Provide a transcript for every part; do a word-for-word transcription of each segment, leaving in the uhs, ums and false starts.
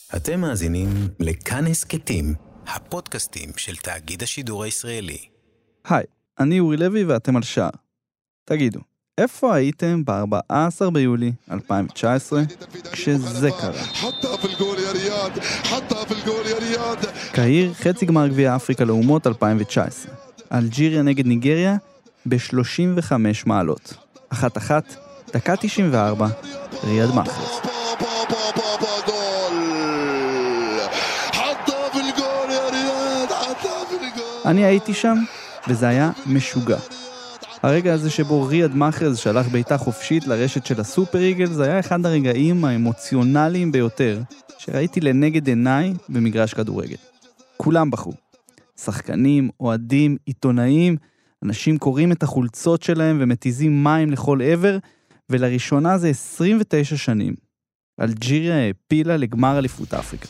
אתם מאזינים לכאן הסקטים, הפודקאסטים של תאגיד השידור הישראלי. היי, אני אורי לוי ואתם על שער. תגידו, איפה הייתם ב-ארבעה עשר ביולי אלפיים תשע עשרה כשזה קרה? קהיר, חצי גמר גביע אפריקה לאומות אלפיים תשע עשרה. אלג'יריה נגד ניגריה ב-שלושים וחמש מעלות. אחת אחת, דקה תשעים וארבע, ריאד מאחרז. אני הייתי שם, וזה היה משוגע. הרגע הזה שבו ריאד מאחרז שלח בעיטה חופשית לרשת של הסופר איגל, זה היה אחד הרגעים האמוציונליים ביותר שראיתי לנגד עיניי במגרש כדורגל. כולם בחרו. שחקנים, אוהדים, עיתונאים, אנשים קוראים את החולצות שלהם ומתיזים מים לכל עבר, ולראשונה זה עשרים ותשע שנים. אלג'יריה העפילה לגמר אליפות אפריקה.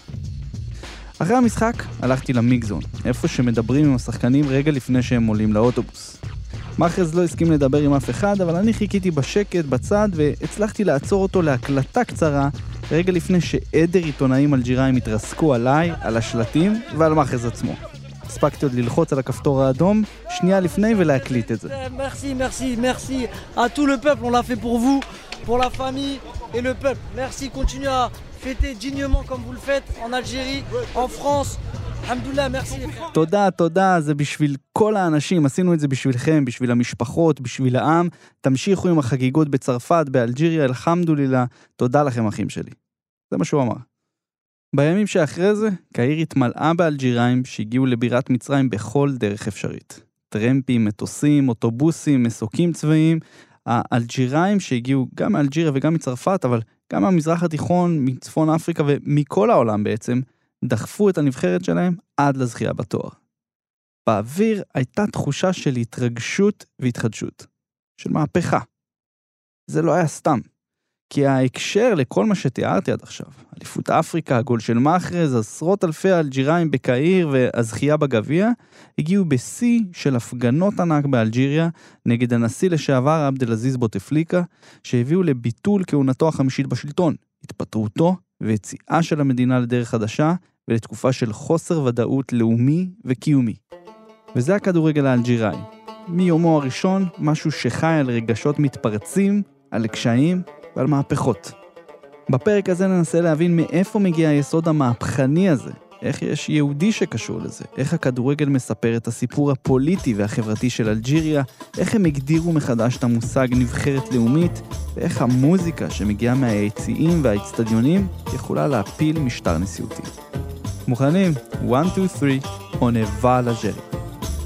אחרי המשחק הלכתי למיגזון, איפה שמדברים עם השחקנים רגע לפני שהם עולים לאוטובוס. מאחרז לא הסכים לדבר עם אף אחד, אבל אני חיכיתי בשקט בצד והצלחתי לעצור אותו להקלטה קצרה, רגע לפני שעדר עיתונאים אלג'יראים התרסקו עליי, על השלטים ועל מאחרז עצמו. הספקתי עוד ללחוץ על הכפתור האדום, שנייה לפני ולהקליט את זה. Merci, merci, merci à tout le peuple, on l'a fait pour vous, pour la famille et le peuple. Merci, continuez à fêter dignement comme vous le faites en Algérie, en France. Alhamdoulilah, merci. תודה, תודה, זה בשביל כל האנשים, עשינו את זה בשבילכם, בשביל המשפחות, בשביל העם. תמשיכו עם החגיגות בצרפת, באלג'יריה, אלחמדולילה. תודה לכם אחים שלי. זה מה שהוא אמר. בימים שאחרי זה, קהיר התמלאה באלג'יראים שהגיעו לבירת מצרים בכל דרך אפשרית. טרמפים, מטוסים, אוטובוסים, מסוקים צבאיים. האלג'יראים שהגיעו גם מאלג'יריה וגם מצרפת, אבל גם מהמזרח התיכון, מצפון אפריקה ומכל העולם בעצם, דחפו את הנבחרת שלהם עד לזכייה בתואר. באוויר הייתה תחושה של התרגשות והתחדשות, של מהפכה. זה לא היה סתם, כי ההקשר לכל מה שתיארתי עד עכשיו, אליפות אפריקה, הגול של מאחרז, עשרות אלפי אלג'יראים בקהיר והזכייה בגביע, הגיעו בשיא של הפגנות ענק באלג'יריה נגד הנשיא לשעבר עבדאלעזיז בוטפליקה, שהביאו לביטול כהונתו החמישית בשלטון, התפטרותו ויציאה של המדינה לדרך חדשה ולתקופה של חוסר ודאות לאומי וקיומי. וזה הכדורגל האלג'יראי. מיומו הראשון, משהו שחי על רגשות מתפרצים, על קשיים ועל מהפכות. בפרק הזה ננסה להבין מאיפה מגיע היסוד המהפכני הזה, איך יש יהודי שקשור לזה, איך הכדורגל מספר את הסיפור הפוליטי והחברתי של אלג'יריה, איך הם הגדירו מחדש את המושג נבחרת לאומית, ואיך המוזיקה שמגיעה מהיציעים והאצטדיונים יכולה להפיל משטר נשיאותי. מוכנים? one, two, three, on a va l'Algérie.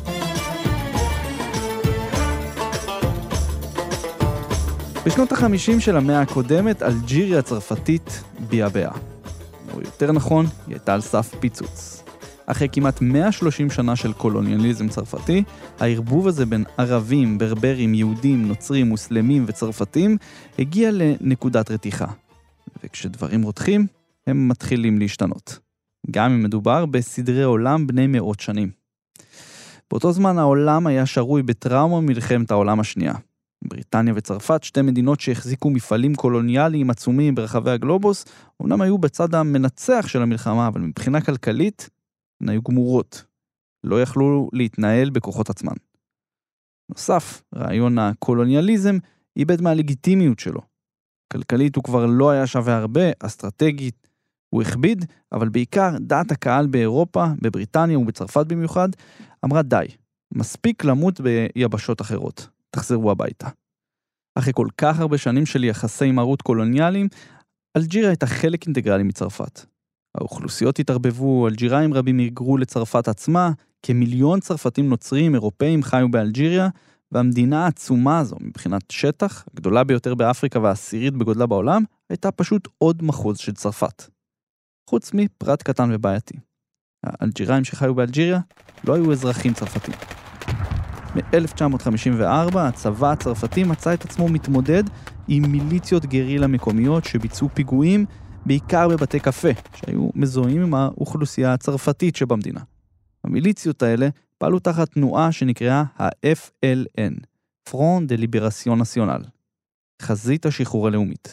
בשנות החמישים של המאה הקודמת, אלג'יריה הצרפתית ביעבעה. או יותר נכון, היא הייתה על סף פיצוץ. אחרי כמעט מאה ושלושים שנה של קולוניאליזם צרפתי, הערבוב הזה בין ערבים, ברברים, יהודים, נוצרים, מוסלמים וצרפתים, הגיע לנקודת רתיחה. וכשדברים רותחים, הם מתחילים להשתנות. גם אם מדובר בסדרי עולם בני מאות שנים. באותו זמן העולם היה שרוי בטראומה מלחמת העולם השנייה. בריטניה וצרפת, שתי מדינות שהחזיקו מפעלים קולוניאליים עצומים ברחבי הגלובוס, אומנם היו בצד המנצח של המלחמה, אבל מבחינה כלכלית, הן היו גמורות. לא יכלו להתנהל בכוחות עצמן. נוסף, רעיון הקולוניאליזם איבד מהלגיטימיות שלו. כלכלית הוא כבר לא היה שווה הרבה, אסטרטגית הוא הכביד, אבל בעיקר דעת הקהל באירופה, בבריטניה ובצרפת במיוחד, אמרה די, מספיק למות ביבשות אחרות. תחזרו הביתה. אחרי כל כך הרבה שנים של יחסי מרות קולוניאליים, אלג'יריה הייתה חלק אינטגרלי מצרפת. האוכלוסיות התערבבו, אלג'יראים רבים היגרו לצרפת עצמה, כמיליון צרפתים נוצרים, אירופאים חיו באלג'יריה, והמדינה העצומה הזו, מבחינת שטח, הגדולה ביותר באפריקה והעשירית בגודלה בעולם, הייתה פשוט עוד מחוז של צרפת. חוץ מפרט קטן ובעייתי. האלג'יראים שחיו באלג'יריה לא היו אזרחים צרפתים. ב-אלף תשע מאות חמישים וארבע הצבא הצרפתי מצא את עצמו מתמודד עם מיליציות גרילה מקומיות שביצעו פיגועים בעיקר בבתי קפה, שהיו מזוהים עם האוכלוסייה הצרפתית שבמדינה. המיליציות האלה פעלו תחת תנועה שנקראה ה-אף אל אן, Front de Libération Nationale, חזית השחרור הלאומית.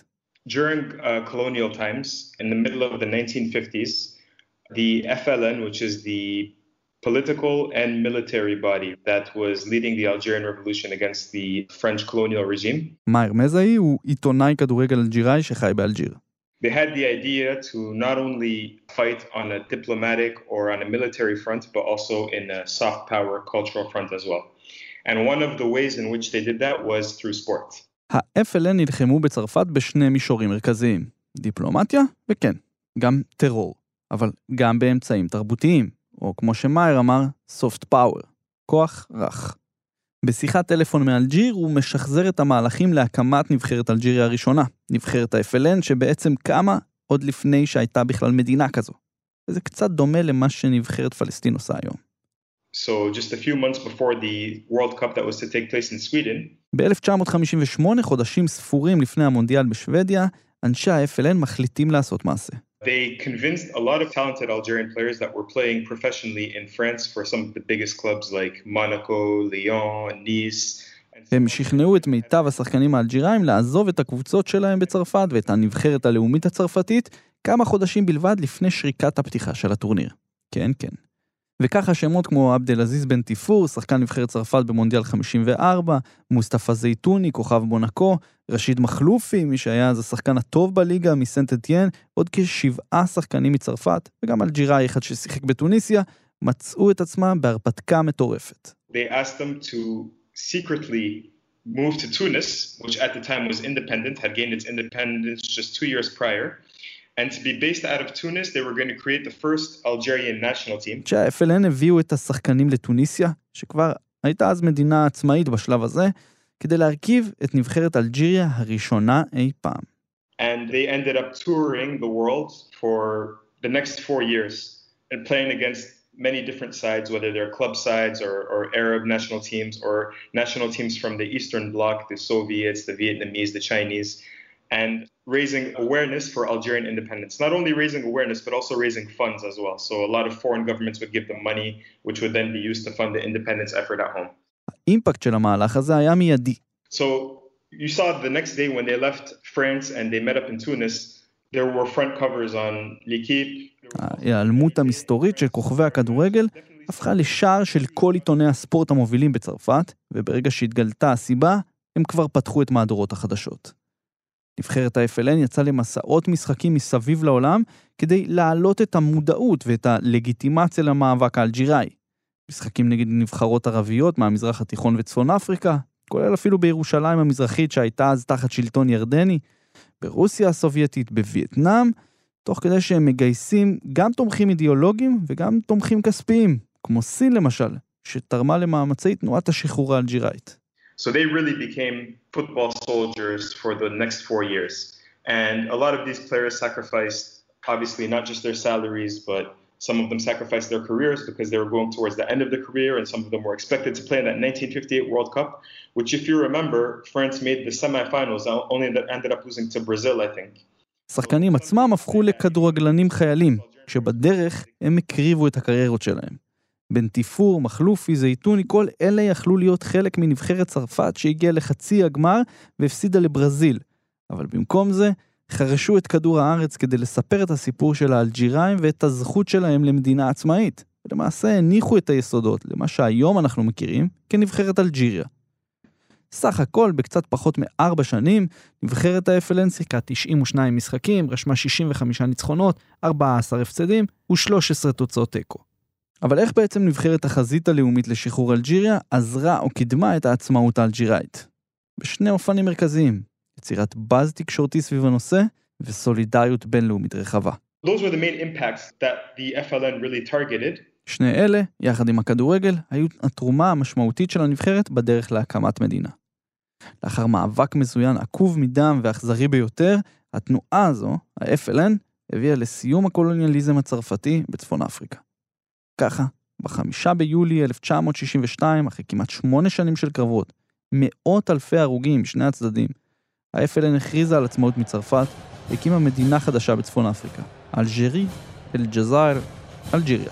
During uh, colonial times, in the middle of the nineteen fifties, the F L N, which is the political and military body that was leading the Algerian revolution against the French colonial regime. מאיר מזאי הוא עיתונאי כדורגל אלג'יראי שחי באלג'יר. They had the idea to not only fight on a diplomatic or on a military front, but also in a soft power cultural front as well. And one of the ways in which they did that was through sport. ה-F L N נלחמו בצרפת בשני מישורים מרכזיים, דיפלומטיה וכן, גם טרור, אבל גם באמצעים תרבותיים, או כמו שמאיר אמר, soft power, כוח רך. בשיחת טלפון מאלג'יר הוא משחזר את המהלכים להקמת נבחרת אלג'יריה הראשונה, נבחרת ה-F L N שבעצם קמה עוד לפני שהייתה בכלל מדינה כזו. וזה קצת דומה למה שנבחרת פלסטין עושה היום. So just a few months before the World Cup that was to take place in Sweden. ב-אלף תשע מאות חמישים ושמונה, חודשים ספורים לפני המונדיאל בשוודיה, אנשי ה-F L N מחליטים לעשות מעשה. They convinced a lot of talented Algerian players that were playing professionally in France for some of the biggest clubs like Monaco, Lyon, Nice. הם שכנעו את מיטב השחקנים האלג'יראים לעזוב את הקבוצות שלהם בצרפת ואת הנבחרת הלאומית הצרפתית כמה חודשים בלבד לפני שריקת הפתיחה של הטורניר. כן, כן. וככה שמות כמו עבדל עזיז בן טיפור, שחקן נבחרת צרפת במונדיאל חמישים וארבע, מוסטפא זייתוני, כוכב מונקו, רשיד מחלופי, מי שהיה אז השחקן הטוב בליגה מסנט אתיין, עוד כשבעה שחקנים מצרפת, וגם אלג'יראי אחד ששיחק בתוניסיה, מצאו את עצמם בהרפתקה מטורפת. They asked them to secretly move to Tunis, which at the time was independent, had gained its independence just two years prior. And to be based out of Tunis, they were going to create the first Algerian national team. כשה-F L N הביאו את השחקנים לטוניסיה, שכבר הייתה אז מדינה עצמאית בשלב הזה, כדי להרכיב את נבחרת אלג'יריה הראשונה אי פעם. And they ended up touring the world for the next four years and playing against many different sides, whether they're club sides or, or Arab national teams or national teams from the Eastern Bloc, the Soviets, the Vietnamese, the Chinese, and raising awareness for Algerian independence. Not only raising awareness, but also raising funds as well. So a lot of foreign governments would give them money, which would then be used to fund the independence effort at home. האימפקט של המהלך הזה היה מיידי. So you saw the next day when they left France and they met up in Tunis, there were front covers on L'Equipe. ההיעלמות המסתורית של כוכבי הכדורגל הפכה לשער של כל עיתוני הספורט המובילים בצרפת, וברגע שהתגלתה הסיבה, הם כבר פתחו את מהדורות החדשות. נבחרת ה-F L N יצא למסעות משחקים מסביב לעולם כדי להעלות את המודעות ואת הלגיטימציה למאבק האלג'יראי. משחקים נגד נבחרות ערביות מהמזרח התיכון וצפון אפריקה, כולל אפילו בירושלים המזרחית שהייתה אז תחת שלטון ירדני, ברוסיה הסובייטית, בווייטנאם, תוך כדי שהם מגייסים גם תומכים אידיאולוגיים וגם תומכים כספיים, כמו סין למשל, שתרמה למאמצי תנועת השחרור האלג'יראית. So they really became football soldiers for the next four years. And a lot of these players sacrificed, obviously, not just their salaries, but some of them sacrificed their careers because they were going towards the end of their career, and some of them were expected to play in that nineteen fifty-eight World Cup, which, if you remember, France made the semifinals, only ended up losing to Brazil, I think. שחקנים עצמם הפכו לכדורגלנים חיילים, כשבדרך הם הקריבו את הקריירות שלהם. בן טיפור, מחלופי, זייתוני, כל אלה יכלו להיות חלק מנבחרת צרפת שהגיעה לחצי הגמר והפסידה לברזיל. אבל במקום זה, חרשו את כדור הארץ כדי לספר את הסיפור של האלג'יראים ואת הזכות שלהם למדינה עצמאית. ולמעשה הניחו את היסודות למה שהיום אנחנו מכירים כנבחרת אלג'יריה. סך הכל, בקצת פחות מארבע שנים, נבחרת ה-F L N שיחקה תשעים ושניים משחקים, רשמה שישים וחמישה ניצחונות, ארבעה עשר הפסדים ו-שלוש עשרה תוצאות תיקו. אבל איך בעצם נבחרת החזית הלאומית לשחרור אלג'יריה עזרה או קידמה את העצמאות האלג'יראית? בשני אופנים מרכזיים, יצירת באז תקשורתי סביב הנושא וסולידריות בינלאומית רחבה. Those were the main impacts that the F L N really targeted. שני אלה, יחד עם הכדורגל, היו התרומה המשמעותית של הנבחרת בדרך להקמת מדינה. לאחר מאבק מזוין עקוב מדם ואכזרי ביותר, התנועה הזו, ה-F L N, הביאה לסיום הקולוניאליזם הצרפתי בצפון אפריקה. ככה, בחמישה ביולי אלף תשע מאות שישים ושתיים, אחרי כמעט שמונה שנים של קרבות, מאות אלפי הרוגים משני הצדדים, ה-F L N הכריזה על עצמאות מצרפת, והקימה מדינה חדשה בצפון אפריקה, אלג'ירי, אל-ג'זאיר, אלג'יריה.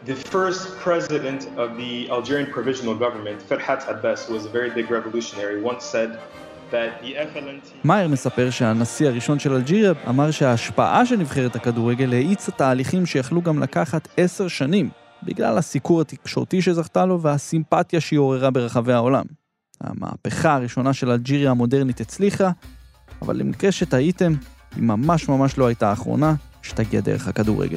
The first president of the Algerian provisional government, Ferhat Abbas, who was a very big revolutionary, once said that the F L N T... מאייר מספר שהנשיא הראשון של אלג'יריה אמר שההשפעה של נבחרת הכדורגל האיצה תהליכים שיכלו גם לקחת עשר שנים, בגלל הסיקור התקשורתי שזכתה לו והסימפתיה שהיא עוררה ברחבי העולם. המהפכה הראשונה של אלג'יריה המודרנית הצליחה, אבל למקרה שטעיתם, היא ממש ממש לא הייתה האחרונה שתגיע דרך הכדורגל.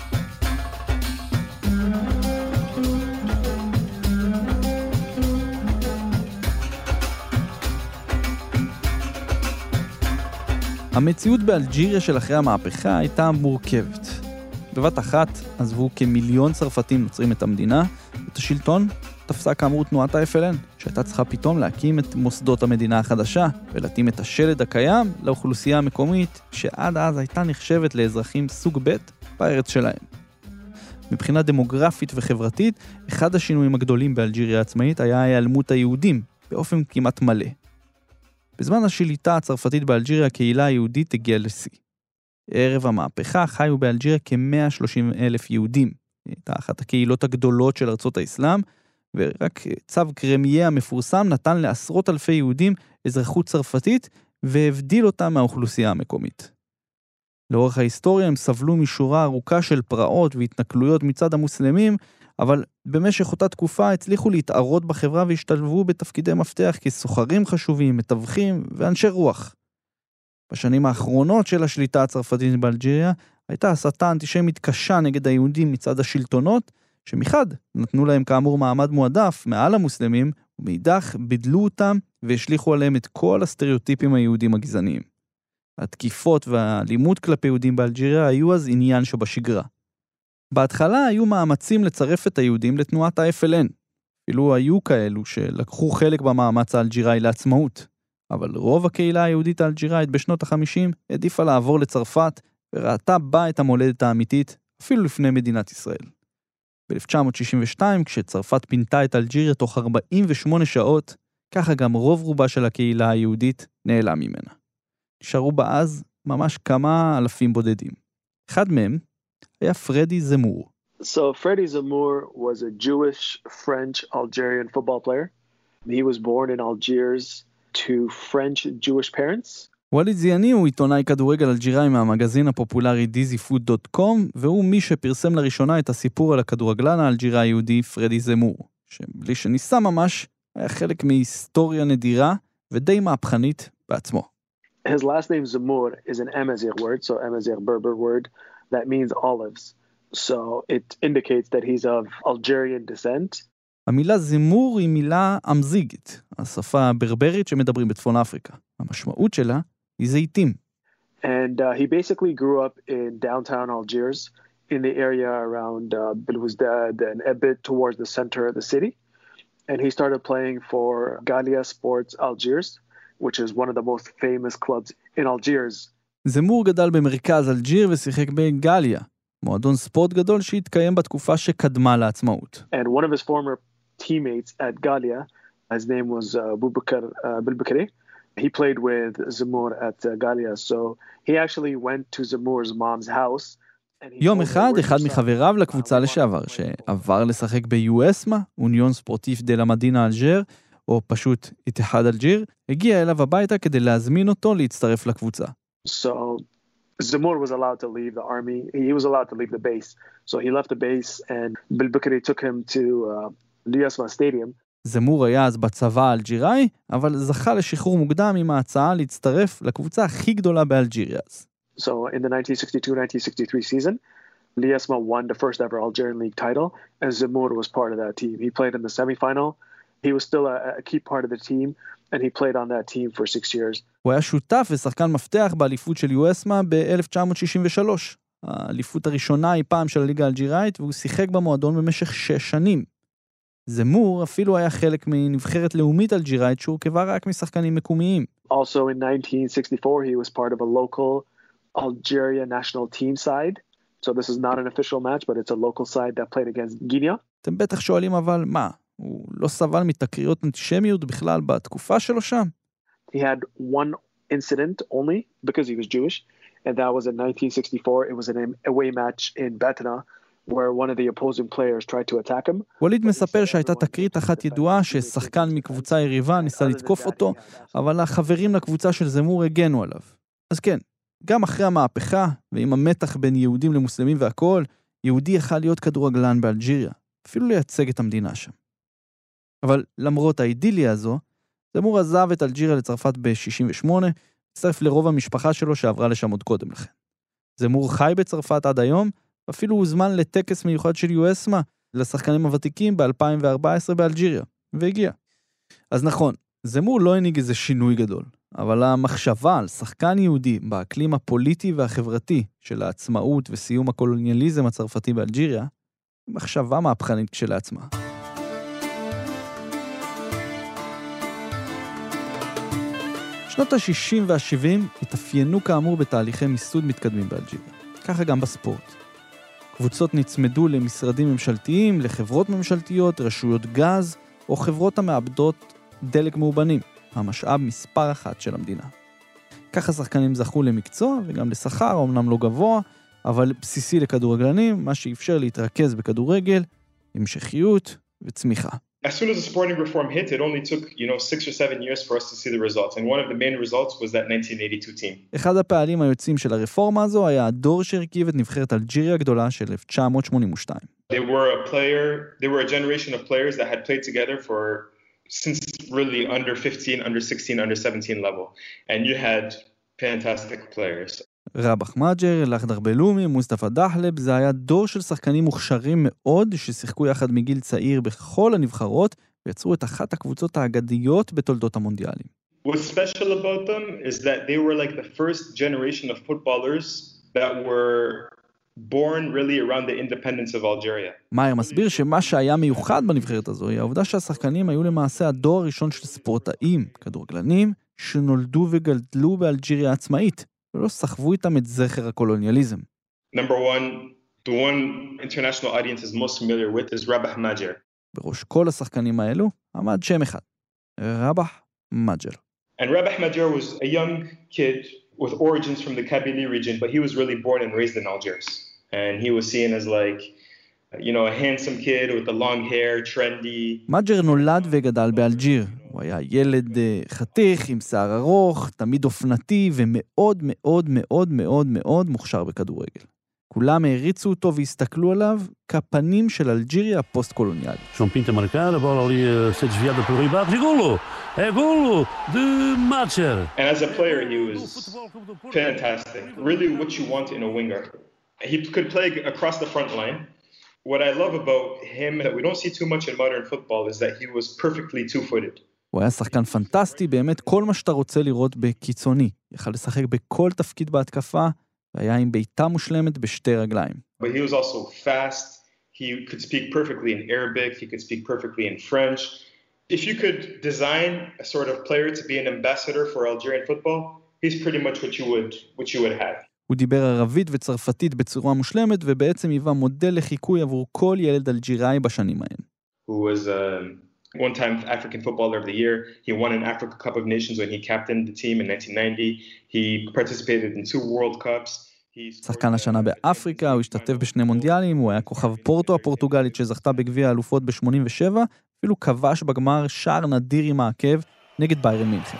המציאות באלג'יריה של אחרי המהפכה הייתה מורכבת. בבת אחת עזבו כמיליון צרפתים נוצרים את המדינה, את השלטון תפסה כאמור תנועת ה-אף אל אן, שהייתה צריכה פתאום להקים את מוסדות המדינה החדשה, ולהתאים את השלד הקיים לאוכלוסייה המקומית, שעד אז הייתה נחשבת לאזרחים סוג ב' בארץ שלהם. מבחינה דמוגרפית וחברתית, אחד השינויים הגדולים באלג'יריה העצמאית היה ההיעלמות היהודים, באופן כמעט מלא. בזמן השליטה הצרפתית באלג'יריה, הקהילה היהודית הגיעה לשיא. ערב המהפכה חיו באלג'יריה כ-מאה ושלושים אלף יהודים. הייתה אחת הקהילות הגדולות של ארצות האסלאם, ורק צו קרמיה המפורסם נתן לעשרות אלפי יהודים אזרחות צרפתית, והבדיל אותם מהאוכלוסייה המקומית. לאורך ההיסטוריה הם סבלו משורה ארוכה של פרעות והתנכלויות מצד המוסלמים, אבל במשך אותה תקופה הצליחו להתערות בחברה והשתלבו בתפקידי מפתח כסוחרים חשובים, מתווכים ואנשי רוח. בשנים האחרונות של השליטה הצרפתית באלג'יריה, הייתה הסתה אנטישמית קשה נגד היהודים מצד השלטונות, שמחד נתנו להם כאמור מעמד מועדף מעל המוסלמים, ומאידך בידלו אותם והשליחו עליהם את כל הסטריאוטיפים היהודים הגזעניים. התקיפות והאלימות כלפי יהודים באלג'יריה היו אז עניין שבשגרה. בהתחלה היו מאמצים לצרף את היהודים לתנועת ה-אף אל אן. אפילו היו כאלו שלקחו חלק במאמץ האלג'יראי לעצמאות. אבל רוב הקהילה היהודית האלג'יראית בשנות ה-חמישים העדיפה לעבור לצרפת וראתה בה את המולדת האמיתית אפילו לפני מדינת ישראל. ב-אלף תשע מאות שישים ושתיים, כשצרפת פינתה את אלג'יריה תוך ארבעים ושמונה שעות, ככה גם רוב רובה של הקהילה היהודית נעלם ממנה. נשארו בה אז ממש כמה אלפים בודדים. אחד מהם היה פרדי זמור. So Freddie Zemmour was a Jewish French Algerian football player. He was born in Algiers to French Jewish parents. וואליד זיאני הוא עיתונאי כדורגל אלג'יראי מהמגזין הפופולרי דיזי פוד דוט קום, והוא מי שפרסם לראשונה את הסיפור על הכדורגלן האלג'יראי היהודי פרדי זמור, שבלי שניסה ממש היה חלק מהיסטוריה נדירה ודי מהפכנית בעצמו. His last name Zemmour is an Amazigh word, so Amazigh Berber word that means olives. So it indicates that he's of Algerian descent. המילה זמור היא מילה אמזיגית, השפה הברברית שמדברים בצפון אפריקה. המשמעות שלה היא זיתים. And uh, he basically grew up in downtown Algiers, in the area around uh, Belouizdad and a bit towards the center of the city. And he started playing for Galia Sports Algiers, which is one of the most famous clubs in Algiers. זמור גדל במרכז אלג'יר ושיחק בגליה, מועדון ספורט גדול שהתקיים בתקופה שקדמה לעצמאות. And one of his former teammates at Galia, his name was uh, Boubacar uh, Bilbakari. He played with Zemmour at uh, Galia, so he actually went to Zemmour's mom's house. יום אחד, אחד מחבריו לקבוצה לשעבר, שעבר לשחק ב-יו-אסמה, אוניון ספורטיף דה לה מדינה אלג'יר, או פשוט איתיחאד אלג'יר, הגיע אליו הביתה כדי להזמין אותו להצטרף לקבוצה. So Zemmour was allowed to leave the army. He was allowed to leave the base. So he left the base and Bilbakari took him to uh, Liasma Stadium. זמור היה אז בצבא האלג'יראי, אבל זכה לשחרור מוקדם עם ההצעה להצטרף לקבוצה הכי גדולה באלג'יריה. So in the nineteen sixty-two nineteen sixty-three season, Liasma won the first ever Algerian league title, and Zemmour was part of that team. He played in the semifinal. He was still a, a key part of the team, and he played on that team for six years. הוא היה שותף ושחקן מפתח באליפות של יו-אסמה ב-אלף תשע מאות שישים ושלוש. האליפות הראשונה היא פעם של הליגה האלג'יראית, והוא שיחק במועדון במשך שש שנים. זמור אפילו היה חלק מנבחרת לאומית אלג'יראית שהורכבה רק משחקנים מקומיים. Also in nineteen sixty-four, he was part of a local Algeria national team side. So this is not an official match, but it's a local side that played against Guinea. אתם בטח שואלים אבל מה? הוא לא סבל מתקריות אנטישמיות בכלל בתקופה שלו שם? He had one incident only because he was Jewish, and that was in nineteen sixty-four. It was an away match in Batna where one of the opposing players tried to attack him. ווליד מספר שהייתה תקרית אחת ידועה ששחקן מקבוצה יריבה ניסה לתקוף אותו, אבל החברים לקבוצה של זמור הגנו עליו. אז כן, גם אחרי המהפכה, ועם המתח בין יהודים למוסלמים והכל, יהודי יכל להיות כדורגלן באלג'יריה, אפילו לייצג את המדינה שם. אבל למרות האידיליה הזו, זמור עזב את אלג'יריה לצרפת ב-שישים ושמונה, הצטרף לרוב המשפחה שלו שעברה לשם עוד קודם לכן. זמור חי בצרפת עד היום, אפילו הוזמן לטקס מיוחד של יואסמה לשחקנים הוותיקים ב-אלפיים וארבע עשרה באלג'יריה, והגיע. אז נכון, זמור לא הנהיג איזה שינוי גדול, אבל המחשבה על שחקן יהודי באקלים הפוליטי והחברתי של העצמאות וסיום הקולוניאליזם הצרפתי באלג'יריה, היא מחשבה מהפכנית כשלעצמה. שנות ה-שישים וה-שבעים התאפיינו כאמור בתהליכי מיסוד מתקדמים באלג'יריה, ככה גם בספורט. קבוצות נצמדו למשרדים ממשלתיים, לחברות ממשלתיות, רשויות גז, או חברות המאבדות דלק מאובנים, המשאב מספר אחת של המדינה. ככה שחקנים זכו למקצוע וגם לשכר, אמנם לא גבוה, אבל בסיסי לכדורגלנים, מה שאפשר להתרכז בכדורגל, המשכיות וצמיחה. As soon as the sporting reform hit, it only took, you know, six or seven years for us to see the results. And one of the main results was that nineteen eighty-two team. אחד הפעלים היוצאים של הרפורמה הזו היה הדור שהרכיב את נבחרת אלג'יריה הגדולה של אלף תשע מאות שמונים ושתיים. They were a player, they were a generation of players that had played together for since really under fifteen, under sixteen, under seventeen level. And you had fantastic players. רבח מג'ר, לחדר בלומי, מוסטפא דחלב, זה היה דור של שחקנים מוכשרים מאוד ששיחקו יחד מגיל צעיר בכל הנבחרות ויצרו את אחת הקבוצות האגדיות בתולדות המונדיאלים. What's special about them is that they were like the first generation of footballers that were born really around the independence of Algeria. מאייר מסביר שמה שהיה מיוחד בנבחרת הזו היא העובדה שהשחקנים היו למעשה הדור הראשון של ספורטאים, כדורגלנים, שנולדו וגדלו באלג'יריה עצמאית. ולא סחבו איתם את זכר הקולוניאליזם. Number one, the one international audience is most familiar with is Rabah Majer. בראש כל השחקנים האלו עמד שם אחד, רבח מג'ר. And Rabah Majer was a young kid with origins from the Kabylie region, but he was really born and raised in Algiers. And he was seen as like, you know, a handsome kid with the long hair, trendy. מג'ר נולד וגדל באלג'יר. הוא היה ילד חתיך עם שיער ארוך, תמיד אופנתי ומאוד מאוד מאוד מאוד מאוד מוכשר בכדורגל. כולם העריצו אותו והסתכלו עליו כפנים של אלג'יריה הפוסט-קולוניאלית. João Pinto a marcar, a bola ali a ser desviada por Ribado, e golo! É golo de Macher. And as a player he was fantastic. Really what you want in a winger. He could play across the front line. What I love about him that we don't see too much in modern football is that he was perfectly two-footed. הוא היה שחקן פנטסטי, באמת כל מה שאתה רוצה לראות בקיצוני. יכל לשחק בכל תפקיד בהתקפה, והיה עם בעיטה מושלמת בשתי רגליים. But he was also fast. He could speak perfectly in Arabic. He could speak perfectly in French. If you could design a sort of player to be an ambassador for Algerian football, he's pretty much what you would, what you would have. הוא דיבר ערבית וצרפתית בצורה מושלמת, ובעצם היווה מודל לחיקוי עבור כל ילד אלג'יראי בשנים ההן. Who was um, one time African Footballer of the Year. He won an Africa Cup of Nations when he captained the team in nineteen ninety. He participated in two World Cups. שחקן השנה באפריקה, הוא השתתף בשני מונדיאלים, הוא היה כוכב פורטו הפורטוגלית שזכתה בגביע האלופות ב-שמונים ושבע, אפילו כבש בגמר שער נדיר עם העקב נגד ביירן מינכן.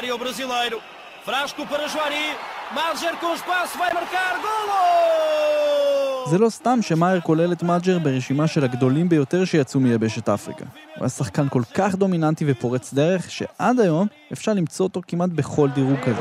זה לא סתם שמאייר כולל את מג'ר ברשימה של הגדולים ביותר שיצאו מיבשת אפריקה. הוא היה שחקן כל כך דומיננטי ופורץ דרך, שעד היום אפשר למצוא אותו כמעט בכל דירוג כזה.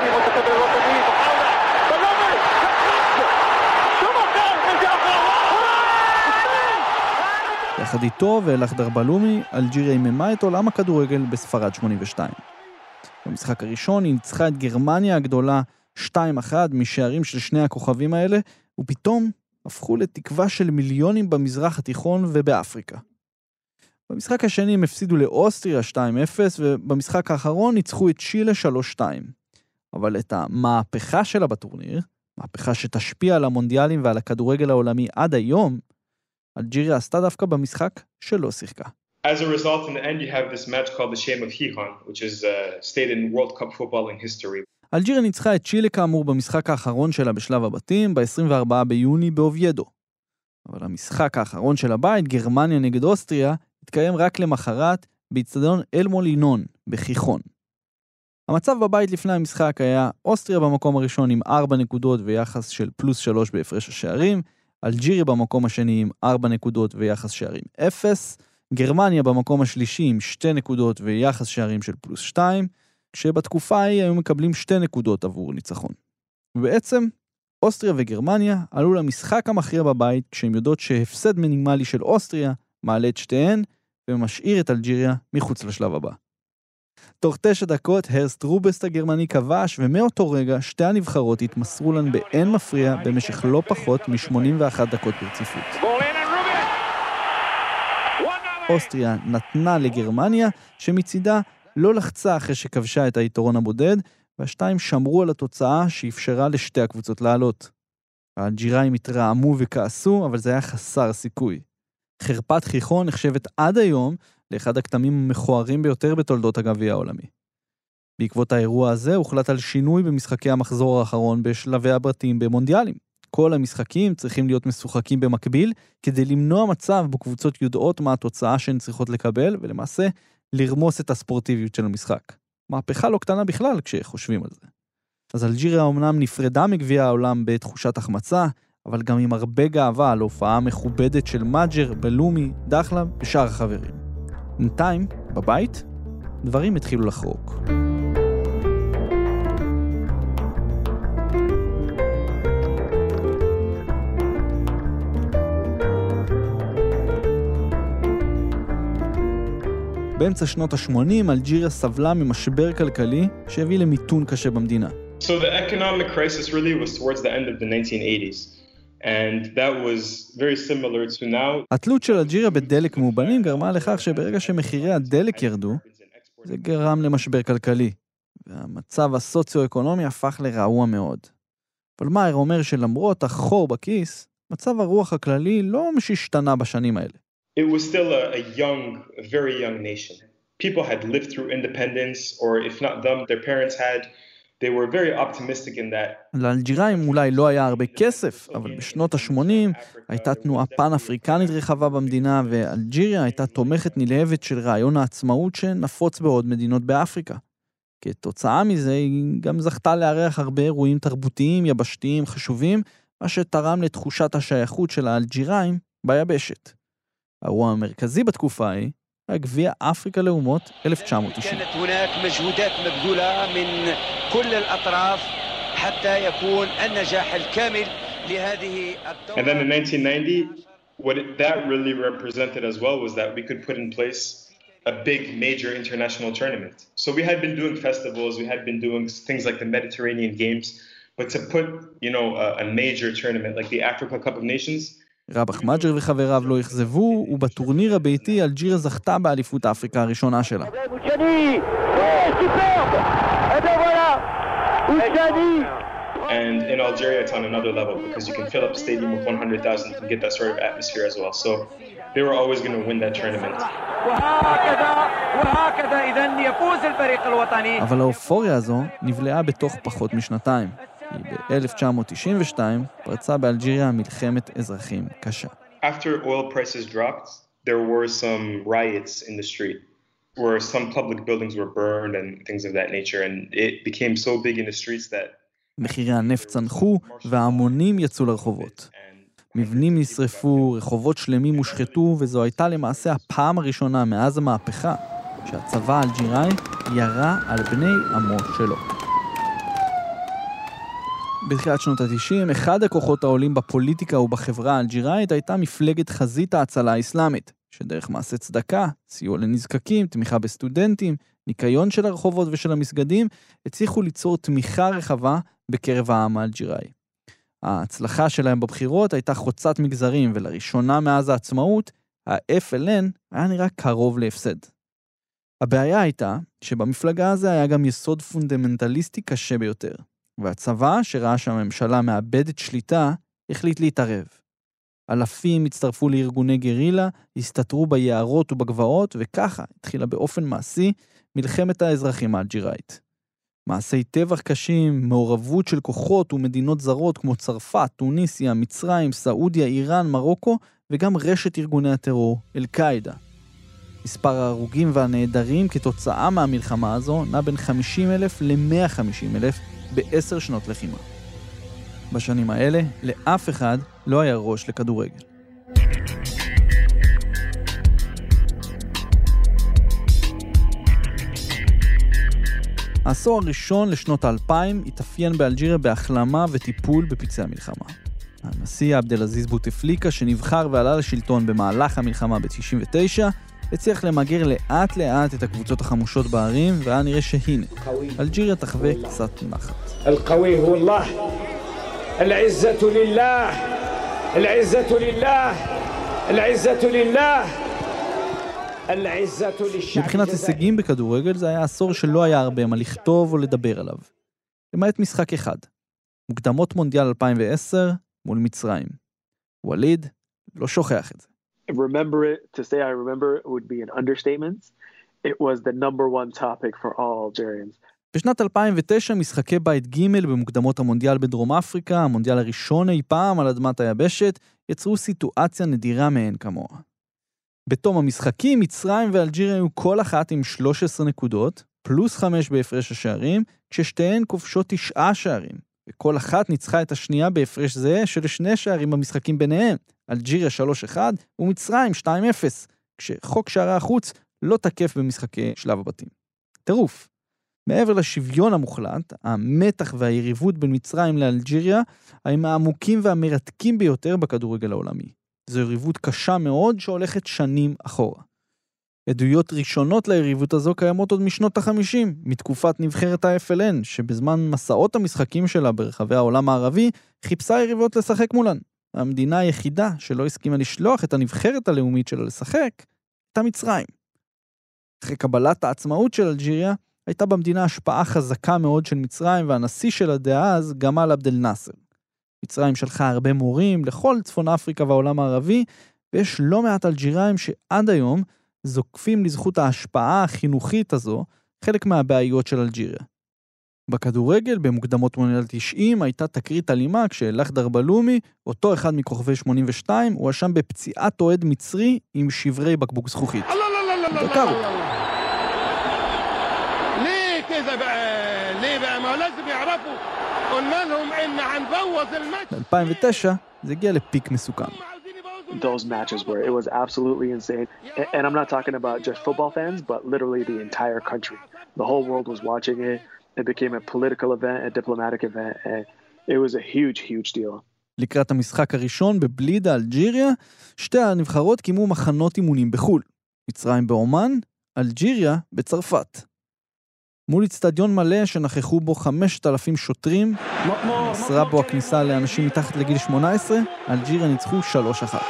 יחד איתו ולחדר בלומי, אלג'יריה איממה את עולם הכדורגל בספרד שמונים ושתיים. במשחק הראשון היא ניצחה את גרמניה הגדולה שתיים אחת משערים של שני הכוכבים האלה, ופתאום הפכו לתקווה של מיליונים במזרח התיכון ובאפריקה. במשחק השני הם הפסידו לאוסטריה שתיים אפס, ובמשחק האחרון ניצחו את צ'ילה שלוש שתיים. אבל את המהפכה שלה בטורניר, מהפכה שתשפיע על המונדיאלים ועל הכדורגל העולמי עד היום, אלג'יריה עשתה דווקא במשחק שלא שיחקה. As a result, in the end, you have this match called the Shame of Gijón, which is uh, stayed in World Cup football in history. אלג'יריה ניצחה את צ'ילה כאמור במשחק האחרון שלה בשלב הבתים, ב-עשרים וארבעה ביוני באוביידו. אבל המשחק האחרון של הבית, גרמניה נגד אוסטריה, התקיים רק למחרת באצטדיון אל מולינון, בכיכון. המצב בבית לפני המשחק היה אוסטריה במקום הראשון עם ארבע נקודות ויחס של פלוס שלוש בהפרש השערים, אלג'יריה במקום השני עם ארבע נקודות ויחס שערים אפס, גרמניה במקום השלישי עם שתי נקודות ויחס שערים של פלוס שתיים, כשבתקופה ההיא היו מקבלים שתי נקודות עבור ניצחון. ובעצם, אוסטריה וגרמניה עלו למשחק המכריע בבית, כשהם יודעות שהפסד מינימלי של אוסטריה מעלה את שתיהן, ומשאיר את אלג'יריה מחוץ לשלב הבא. תוך תשע דקות, הרסט רובסט הגרמני כבש, ומאותו רגע שתי הנבחרות התמסרו לן באין מפריע במשך לא פחות מ-שמונים ואחת דקות ברציפות. אוסטריה נתנה לגרמניה, שמצידה לא לחצה אחרי שכבשה את היתרון הבודד, והשתיים שמרו על התוצאה שאפשרה לשתי הקבוצות לעלות. האלג'יראים התרעמו וכעסו, אבל זה היה חסר סיכוי. חרפת חיכון נחשבת עד היום לאחד הכתמים המכוערים ביותר בתולדות הגביע העולמי. בעקבות האירוע הזה הוחלט על שינוי במשחקי המחזור האחרון בשלבי הבתים במונדיאלים. כל המשחקים צריכים להיות משוחקים במקביל, כדי למנוע מצב בו קבוצות יודעות מה התוצאה שהן צריכות לקבל, ולמעשה לרמוס את הספורטיביות של המשחק. מהפכה לא קטנה בכלל כשחושבים על זה. אז אלג'יריה אומנם נפרדה מגביע העולם בתחושת החמצה, אבל גם עם הרבה גאווה על הופעה מכובדת של מג'ר, בלומי, דחלה ושאר החברים. בינתיים, בבית, דברים התחילו לחרוק. באמצע שנות ה-שמונים, אלג'יריה סבלה ממשבר כלכלי שהביא למיתון קשה במדינה. So the economic crisis really was towards the end of the nineteen eighties. And that was very similar to now. התלות של אלג'יריה בדלק מאובנים גרמה לכך שברגע שמחירי הדלק ירדו, זה גרם למשבר כלכלי, והמצב הסוציו-אקונומי הפך לרעוע מאוד. אבל מאיר אומר שלמרות החור בכיס, מצב הרוח הכללי לא משתנה בשנים האלה. It was still a, a young, a very young nation. People had lived through independence, or if not them, their parents had. They were very optimistic in that. לאלג'יראים אולי לא היה הרבה כסף, אבל בשנות ה-שמונים הייתה תנועה פן-אפריקנית רחבה במדינה, ואלג'יריה הייתה תומכת נלהבת של רעיון העצמאות שנפוץ בעוד מדינות באפריקה. כתוצאה מזה היא גם זכתה לארח הרבה אירועים תרבותיים, יבשתיים, חשובים, מה שתרם לתחושת השייכות של האלג'יראים ביבשת. האירוע המרכזי בתקופה היא גביע אפריקה לאומות אלף תשע מאות תשעים. كانت هناك مجهودات مبذولة من كل الأطراف حتى يكون النجاح الكامل لهذه الدورة. And then in nineteen ninety, what it, that really represented as well was that we could put in place a big major international tournament. So we had been doing festivals, we had been doing things like the Mediterranean Games, but to put, you know, a, a major tournament like the Africa Cup of Nations. רבח מג'ר וחבריו לא יחזבו, ובטורניר הביתי אלג'יריה זכתה באליפות אפריקה הראשונה שלה. And in Algeria it's on another level because you can fill up a stadium with one hundred thousand and get that sort of atmosphere as well. So they were always going to win that tournament. אבל האופוריה הזו נבלעה בתוך פחות משנתיים. ב-אלף תשע מאות תשעים ושתיים פרצה באלג'יריה מלחמת אזרחים קשה. After oil prices dropped, there were some riots in the street where some public buildings were burned and things of that nature, and it became so big in the streets that מחירי הנפט צנחו וההמונים יצאו לרחובות. מבנים נשרפו, רחובות שלמים הושחתו, וזו הייתה למעשה הפעם הראשונה מאז המהפכה שהצבא האלג'יראי ירה על בני עמו שלו. בתחילת שנות ה-תשעים, אחד הכוחות העולים בפוליטיקה ובחברה האלג'יראית הייתה מפלגת חזית ההצלה האסלאמית, שדרך מעשה צדקה, סיוע לנזקקים, תמיכה בסטודנטים, ניקיון של הרחובות ושל המסגדים, הצליחו ליצור תמיכה רחבה בקרב העם האלג'יראי. ההצלחה שלהם בבחירות הייתה חוצת מגזרים, ולראשונה מאז העצמאות, ה-אף אל אן היה נראה קרוב להפסד. הבעיה הייתה שבמפלגה הזה היה גם יסוד פונדמנטליסטי קשה ביותר. והצבא, שראה שהממשלה מאבדת שליטה, החליט להתערב. אלפים הצטרפו לארגוני גרילה, הסתתרו ביערות ובגבעות, וככה התחילה באופן מעשי מלחמת האזרחים האלג'יראית. מעשי טבח קשים, מעורבות של כוחות ומדינות זרות כמו צרפת, טוניסיה, מצרים, סעודיה, איראן, מרוקו, וגם רשת ארגוני הטרור, אל-קאידה. מספר ההרוגים והנעדרים כתוצאה מהמלחמה הזו נע בין חמישים אלף ל-מאה וחמישים אלף בעשר שנות לחימה. בשנים האלה, לאף אחד לא היה ראש לכדורגל. העשור הראשון לשנות האלפיים התאפיין באלג'יריה בהחלמה וטיפול בפצעי המלחמה. הנשיא עבדלעזיז בוטפליקה, שנבחר ועלה לשלטון במהלך המלחמה ב-תשעים ותשע, הצליח למגר לאט לאט את הקבוצות החמושות בערים, והיה נראה שהנה, אלג'יריה תחווה קצת נחת. القوي هو الله العزة لله العزة لله العزة لله العزة للشعب. מבחינת הישגים בכדורגל זה היה עשור שלא היה הרבה מה לכתוב או לדבר עליו. למעט משחק אחד. מוקדמות מונדיאל אלפיים ועשר מול מצרים. וליד לא שוכח את זה. Remember it, to say I remember it would be an understatement. It was the number one topic for all Algerians. בשנת אלפיים ותשע משחקי בית ג' במוקדמות המונדיאל בדרום אפריקה, המונדיאל הראשון אי פעם על אדמת היבשת, יצרו סיטואציה נדירה מהן כמוה. בתום המשחקים, מצרים ואלג'יריה היו כל אחת עם שלוש עשרה נקודות, פלוס חמש בהפרש השערים, כששתיהן כובשות תשעה שערים, וכל אחת ניצחה את השנייה בהפרש זה של שני שערים במשחקים ביניהם, אלג'יריה שלוש אחד ומצרים שתיים אפס, כשחוק שערי החוץ לא תקף במשחקי שלב הבתים. טירוף. מעבר לשוויון המוחלט, המתח והיריבות בין מצרים לאלג'יריה הם העמוקים והמרתקים ביותר בכדורגל העולמי. זו יריבות קשה מאוד שהולכת שנים אחורה. עדויות ראשונות ליריבות הזו קיימות עוד משנות ה-חמישים, מתקופת נבחרת ה-אף אל אן, שבזמן מסעות המשחקים שלה ברחבי העולם הערבי, חיפשה יריבות לשחק מולן. המדינה היחידה שלא הסכימה לשלוח את הנבחרת הלאומית שלה לשחק, הייתה מצרים. אחרי קבלת העצמאות של אלג'יריה, הייתה במדינה השפעה חזקה מאוד של מצרים, והנשיא שלה דאז, גמאל עבד אל-נאסר. מצרים שלחה הרבה מורים לכל צפון אפריקה והעולם הערבי, ויש לא מעט אלג'יראים שעד היום זוקפים לזכות ההשפעה החינוכית הזו, חלק מהבעיות של אלג'יריה. בכדורגל, במוקדמות מונדיאל תשעים, הייתה תקרית אלימה כשלחדר בלומי, אותו אחד מכוכבי שמונים ושתיים, הוא אשם בפציעת אוהד מצרי עם שברי בקבוק זכוכית. דקר אותו. ليه كده بقى ليه بقى ما لازم يعرفوا قلنا لهم ان هنبوظ الماتش. ב-אלפיים ותשע זה הגיע לפיק מסוכן. Those matches were, it was absolutely insane. And I'm not talking about just football fans, but literally the entire country. The whole world was watching it. It became a political event, a diplomatic event, and it was a huge, huge deal. לקראת המשחק הראשון בבלידה, אלג'יריה, שתי הנבחרות קיימו מחנות אימונים בחול. מצרים באומן, אלג'יריה בצרפת. מול אצטדיון מלא שנכחו בו חמשת אלפים שוטרים, אסרה בו הכניסה לאנשים מתחת לגיל שמונה עשרה, אלג'יריה ניצחו שלוש אחת.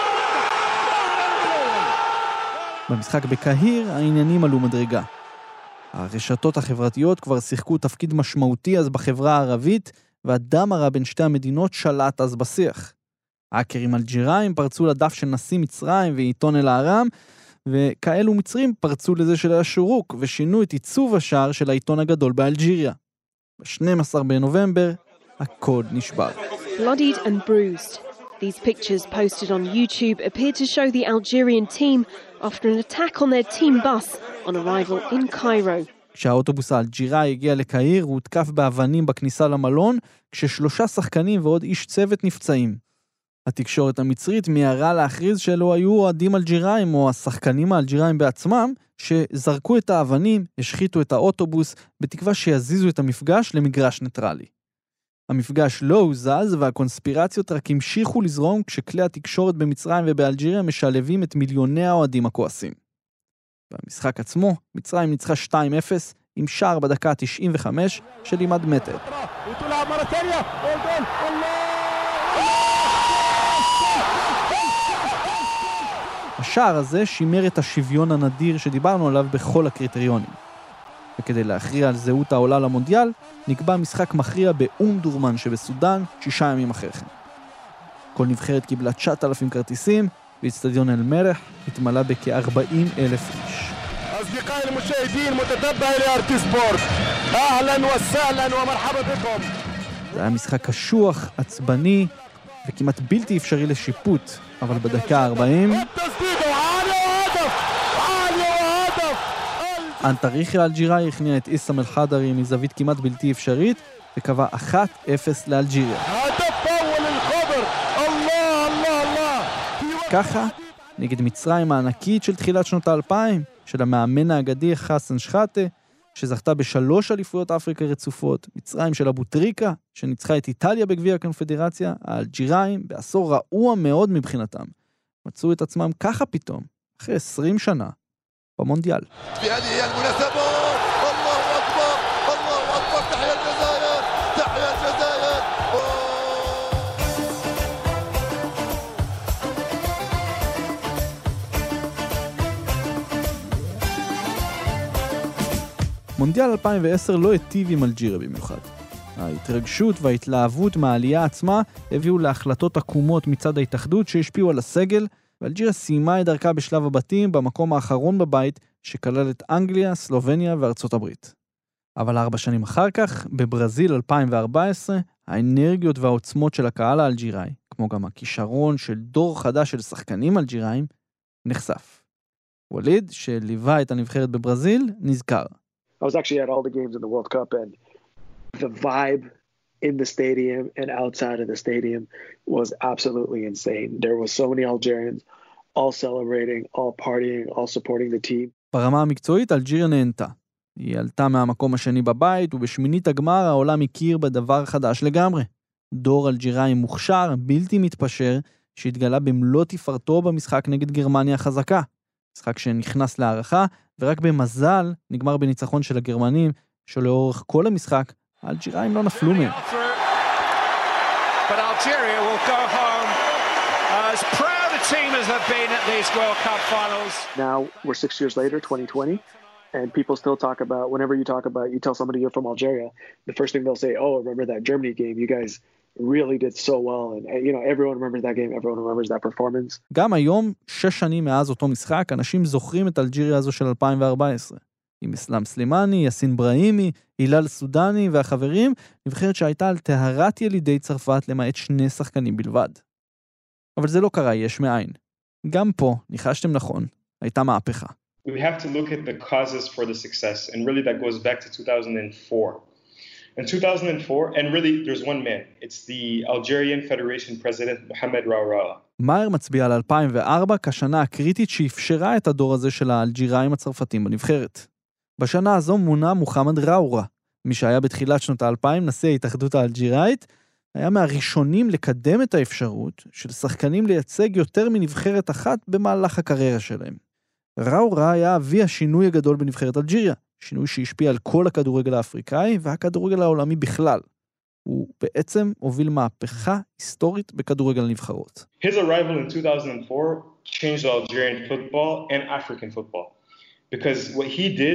במשחק בקהיר העניינים עלו מדרגה. הרשתות החברתיות כבר שיחקו תפקיד משמעותי אז בחברה הערבית, והדם הרע בין שתי המדינות שלט אז בשיח. האקרים אלג'יראים פרצו לדף של נשיא מצרים ועיתון אל-אהרם, וכאלו מצרים פרצו לזה של השורוק, ושינו את עיצוב השער של העיתון הגדול באלג'יריה. ב-שנים עשר בנובמבר, הקוד נשבר. Bloodied and bruised. These pictures posted on YouTube appear to show the Algerian team after an attack on their team bus on arrival in Cairo. כשהאוטובוס האלג'יראי הגיע לקהיר, הוא הותקף באבנים בכניסה למלון, כששלושה שחקנים ועוד איש צוות נפצעים. התקשורת המצרית מיהרה להכריז שלא היו אוהדים אלג'יראים או השחקנים האלג'יראים בעצמם, שזרקו את האבנים, השחיתו את האוטובוס, בתקווה שיזיזו את המפגש למגרש ניטרלי. המפגש לא הוזז, והקונספירציות רק המשיכו לזרום כשכלי התקשורת במצרים ובאלג'יריה משלבים את מיליוני האוהדים הכועסים. במשחק עצמו, מצרים ניצחה שתיים אפס עם שער בדקה תשעים וחמש של לימד מטר. השער הזה שימר את השוויון הנדיר שדיברנו עליו בכל הקריטריונים. וכדי להכריע על זהות העולה למונדיאל, נקבע משחק מכריע באום דורמן שבסודן שישה ימים אחרי כן. כל נבחרת קיבלה תשעת אלפים כרטיסים, ואצטדיון אל-מרח התמלא בכ-ארבעים אלף איש. أصدقائي المشاهدين متتبع لأرتي سبورت אהלן וסהלן ומרחבה בكم. זה היה משחק קשוח, עצבני וכמעט בלתי אפשרי לשיפוט, אבל בדקה ה-ארבעים אנטריחי אלג'יראי הכניע את איסם אל-חדרי מזווית כמעט בלתי אפשרית וקבע אחת אפס לאלג'יריה. ככה, נגד מצרים הענקית של תחילת שנות האלפיים, של המאמן האגדי חסן שחאטה, שזכתה בשלוש אליפויות אפריקה רצופות, מצרים של אבו טריקה, שניצחה את איטליה בגביע הקונפדרציה, האלג'יראים, בעשור רעוע מאוד מבחינתם, מצאו את עצמם ככה פתאום, אחרי עשרים שנה, במונדיאל. מונדיאל אלפיים ועשר לא היטיב עם אלג'יריה במיוחד. ההתרגשות וההתלהבות מהעלייה עצמה הביאו להחלטות עקומות מצד ההתאחדות שהשפיעו על הסגל, ואלג'יריה סיימה את דרכה בשלב הבתים במקום האחרון בבית שכלל את אנגליה, סלובניה וארצות הברית. אבל ארבע שנים אחר כך, בברזיל אלפיים וארבע עשרה, האנרגיות והעוצמות של הקהל האלג'יראי, כמו גם הכישרון של דור חדש של שחקנים אלג'יראיים, נחשף. וליד, שליווה את הנבחרת בברזיל, נזכר. I was actually at all the games in the World Cup, and the vibe in the stadium and outside of the stadium was absolutely insane. There were so many Algerians all celebrating, all partying, all supporting the team. ברמה המקצועית, אלג'יריה נהנתה. היא עלתה מהמקום השני בבית, ובשמינית הגמר העולם הכיר בדבר חדש לגמרי. דור אלג'יראי מוכשר, בלתי מתפשר, שהתגלה במלוא תפארתו במשחק נגד גרמניה החזקה. משחק שנכנס להערכה, ורק במזל נגמר בניצחון של הגרמנים, שלאורך כל המשחק, האלג'יראים לא נפלו מהם. But Algeria will go home as proud a team as they've been at these World Cup finals. Now we're six years later, twenty twenty, and people still talk about, whenever you talk about, you tell somebody you're from Algeria, the first thing they'll say, oh, remember that Germany game, you guys really did so well, and you know, everyone remembers that game, everyone remembers that performance. גם היום, שש שנים מאז אותו משחק, אנשים זוכרים את אלג'יריה הזו של אלפיים וארבע עשרה. עם אסלאם סלימני, יאסין בראימי, הילל סודני והחברים, נבחרת שהייתה על טהרת ילידי צרפת למעט שני שחקנים בלבד. אבל זה לא קרה יש מאין. גם פה, ניחשתם נכון, הייתה מהפכה. We have to look at the causes for the success, and really that goes back to two thousand four. In two thousand four, and really there's one man, it's the Algerian Federation President Mohamed Raoura. מאייר מצביע על אלפיים וארבע כשנה הקריטית שאפשרה את הדור הזה של האלג'יראים הצרפתים בנבחרת. בשנה הזו מונה מוחמד ראורה, מי שהיה בתחילת שנות האלפיים נשיא ההתאחדות האלג'יראית, היה מהראשונים לקדם את האפשרות של שחקנים לייצג יותר מנבחרת אחת במהלך הקריירה שלהם. ראורה היה אבי השינוי הגדול בנבחרת אלג'יריה, שינוי שהשפיע על כל הכדורגל האפריקאי והכדורגל העולמי בכלל. הוא בעצם הוביל מהפכה היסטורית בכדורגל הנבחרות. His arrival in two thousand four changed Algerian football and African football. Because what he did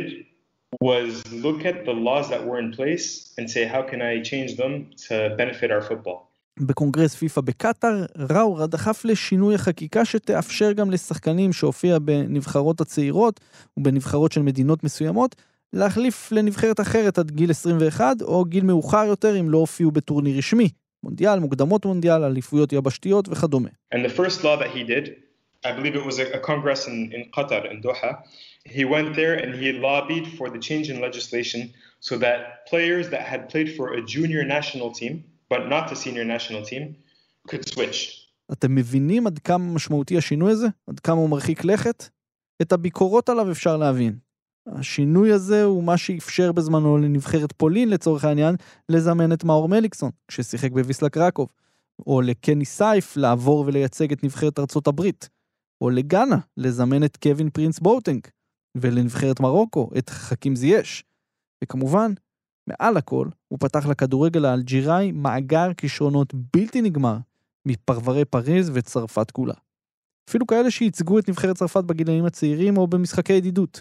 was look at the laws that were in place and say how can I change them to benefit our football. בקונגרס פיפה בקטר, ראורה דחף לשינוי החקיקה שתאפשר גם לשחקנים שהופיע בנבחרות הצעירות ובנבחרות של מדינות מסוימות, להחליף לנבחרת אחרת עד גיל עשרים ואחת או גיל מאוחר יותר אם לא הופיעו בטורניר רשמי, מונדיאל, מוקדמות מונדיאל, אליפויות יבשתיות וכדומה. And the first law that he did, I believe it was a, a congress in, in Qatar, in Doha, he went there and he lobbied for the change in legislation so that players that had played for a junior national team, but not the senior national team, could switch. אתם מבינים עד כמה משמעותי השינוי הזה? עד כמה הוא מרחיק לכת? את הביקורות עליו אפשר להבין. השינוי הזה הוא מה שאפשר בזמנו לנבחרת פולין לצורך העניין לזמן את מאור מליקסון כששיחק בוויסלה קרקוב, או לקני סייף לעבור ולייצג את נבחרת ארצות הברית, או לגאנה לזמן את קווין פרינס בוטנג, ולנבחרת מרוקו את חכים זייש. וכמובן, מעל הכל, הוא פתח לכדורגל האלג'יראי מאגר כישרונות בלתי נגמר מפרברי פריז וצרפת כולה. אפילו כאלה שייצגו את נבחרת צרפת בגילאים הצעירים או במשחקי ידידות.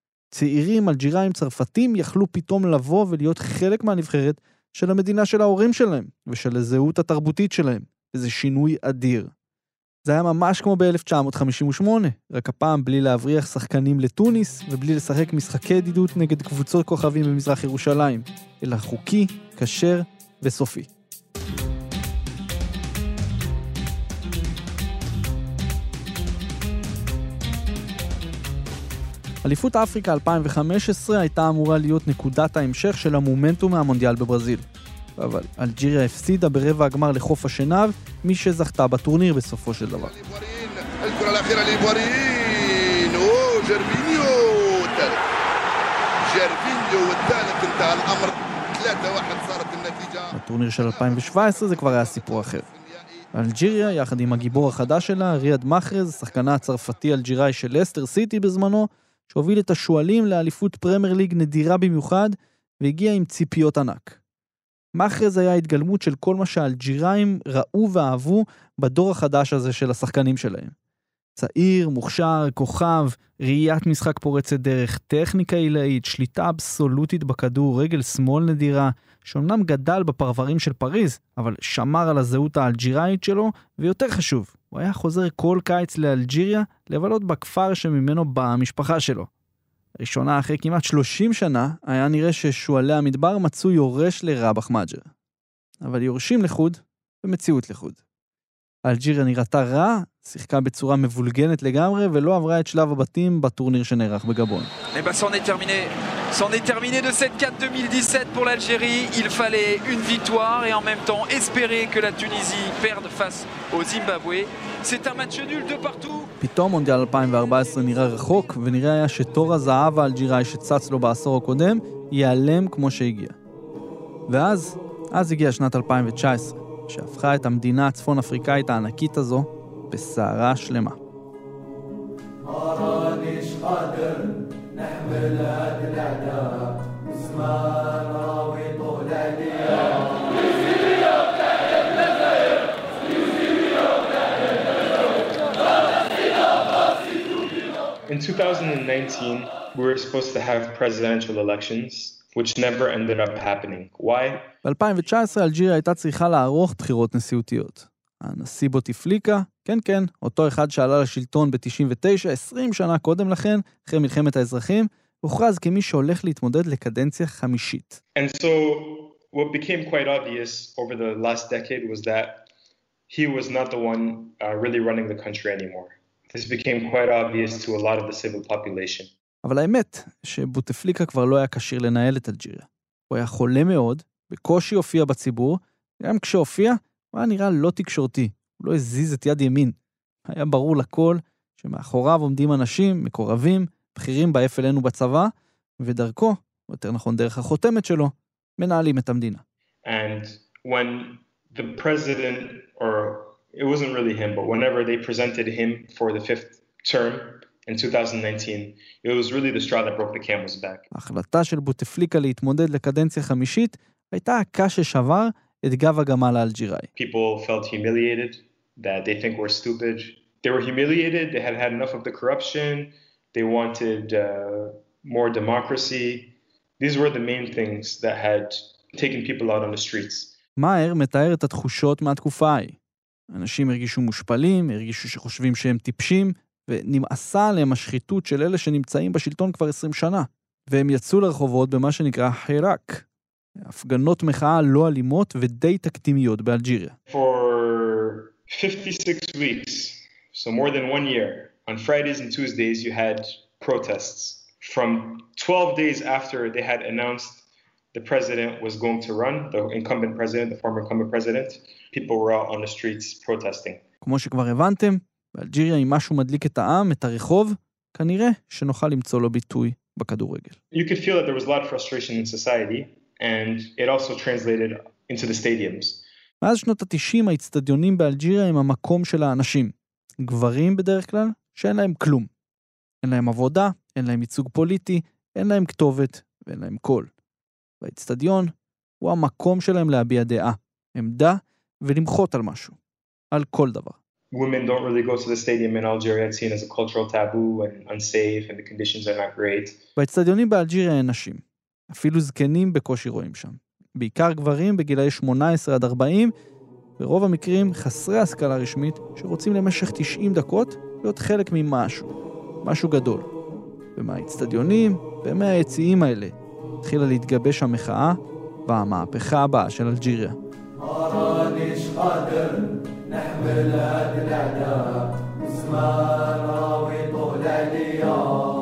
צעירים אלג'יראים צרפתים יכלו פתאום לבוא ולהיות חלק מהנבחרת של המדינה של ההורים שלהם ושל הזהות התרבותית שלהם. וזה שינוי אדיר. זה היה ממש כמו ב-אלף תשע מאות חמישים ושמונה, רק הפעם בלי להבריח שחקנים לטוניס ובלי לשחק משחקי ידידות נגד קבוצות כוכבים במזרח ירושלים, אלא חוקי, כשר וסופי. אליפות אפריקה אלפיים וחמש עשרה הייתה אמורה להיות נקודת ההמשך של המומנטום מהמונדיאל בברזיל. אבל אלג'יריה הפסידה ברבע הגמר לחוף השנהב, מי שזכתה בטורניר בסופו של דבר. الكرة الأخيرة لبورين وجيرفينيو الثالث جيرفينيو والثالث انتهى الأمر ثلاثة واحد صارت النتيجة. בטורניר של אלפיים ושבע עשרה זה כבר היה סיפור אחר. אלג'יריה, יחד עם הגיבור החדש שלה, ריאד מחרז, שחקנה הצרפתי אלג'יראי של לסטר סיטי בזמנו, שהוביל את השואלים לאליפות פרמייר ליג נדירה במיוחד, והגיע עם ציפיות ענק. מחרז היה התגלמות של כל מה שהאלג'יראים ראו ואהבו בדור החדש הזה של השחקנים שלהם. צעיר, מוכשר, כוכב, ראיית משחק פורצת דרך, טכניקה עילאית, שליטה אבסולוטית בכדור, רגל שמאל נדירה, שאומנם גדל בפרברים של פריז, אבל שמר על הזהות האלג'יראית שלו, ויותר חשוב, הוא היה חוזר כל קיץ לאלג'יריה, לבלות בכפר שממנו באה המשפחה שלו. ראשונה אחרי כמעט שלושים שנה, היה נראה ששואלי המדבר מצאו יורש לרבח מג'ר. אבל יורשים לחוד, במציאות לחוד. אלג'יריה נראתה רע, שיחקה בצורה מבולגנת לגמרי, ולא עברה את שלב הבתים בטורניר שנערך בגבון. Et ben c'en est terminé. C'en est terminé de cette CAN deux mille dix-sept pour l'Algérie. Il fallait une victoire et en même temps espérer que la Tunisie perde face au Zimbabwe. C'est un match nul de partout. פתאום מונדיאל אלפיים וארבע עשרה נראה רחוק, ונראה היה שתור הזהב האלג'יראי שצץ לו בעשור הקודם, ייעלם כמו שהגיע. ואז, אז הגיעה שנת אלפיים ותשע עשרה, שהפכה את המדינה הצפון אפריקאית הענקית הזו בסערה שלמה. In two thousand nineteen, we were supposed to have presidential elections, which never ended up happening. Why? ב-אלפיים ותשע עשרה אלג'יריה הייתה צריכה לערוך בחירות נשיאותיות. הנשיא בוטיפליקה, כן כן, אותו אחד שעלה לשלטון ב-תשעים ותשע, עשרים שנה קודם לכן, אחרי מלחמת האזרחים, הוכרז כמי שהולך להתמודד לקדנציה חמישית. And so what became quite obvious over the last decade was that he was not the one uh, really running the country anymore. This became quite obvious to a lot of the civil population. אבל האמת שבוטפליקה כבר לא היה כשיר לנהל את אלג'יריה. הוא היה חולה מאוד, בקושי הופיע בציבור, גם כשהופיע, הוא היה נראה לא תקשורתי, הוא לא הזיז את יד ימין. היה ברור לכל שמאחוריו עומדים אנשים, מקורבים, בכירים באף אלינו בצבא, ודרכו, או יותר נכון דרך החותמת שלו, מנהלים את המדינה. And when the president, or it wasn't really him, but whenever they presented him for the fifth term in two thousand nineteen, it was really the straw that broke the camel's back. ההחלטה של בוטפליקה להתמודד לקדנציה חמישית הייתה הקש ששבר את גב הגמל האלג'יראי. People felt humiliated, that they think we're stupid. They were humiliated, they had had enough of the corruption, they wanted uh, more democracy. These were the main things that had taken people out on the streets. מאייר מתאר את התחושות מהתקופה ההיא. אנשים הרגישו מושפלים, הרגישו שחושבים שהם טיפשים, ונמאסה עליהם השחיתות של אלה שנמצאים בשלטון כבר עשרים שנה. והם יצאו לרחובות במה שנקרא חיראק. הפגנות מחאה לא אלימות ודי תקדימיות באלג'יריה. For fifty-six weeks, so more than one year, on Fridays and Tuesdays you had protests. From twelve days after they had announced the president was going to run, the incumbent president, the former incumbent president, people were out on the streets protesting. כמו שכבר הבנתם, באלג'יריה אם משהו מדליק את העם, את הרחוב, כנראה שנוכל למצוא לו ביטוי בכדורגל. You could feel that there was a lot of frustration in society, and it also translated into the stadiums. מאז שנות ה-תשעים האצטדיונים באלג'יריה הם המקום של האנשים. גברים בדרך כלל שאין להם כלום. אין להם עבודה, אין להם ייצוג פוליטי, אין להם כתובת ואין להם קול. והאצטדיון הוא המקום שלהם להביע דעה, עמדה ולמחות על משהו. על כל דבר. Women don't really go to the stadium in Algeria. It's seen as a cultural taboo and unsafe and the conditions are not great. באצטדיונים באלג'יריה אין נשים. אפילו זקנים בקושי רואים שם. בעיקר גברים בגילאי שמונה עשרה עד ארבעים, ברוב המקרים חסרי השכלה רשמית שרוצים למשך תשעים דקות להיות חלק ממשהו, משהו גדול. ומהאצטדיונים ומהיציעים האלה התחילה להתגבש המחאה והמהפכה הבאה של אלג'יריה. مانيش قادر نحمل هاد الأعداء زمان راوي طول عليا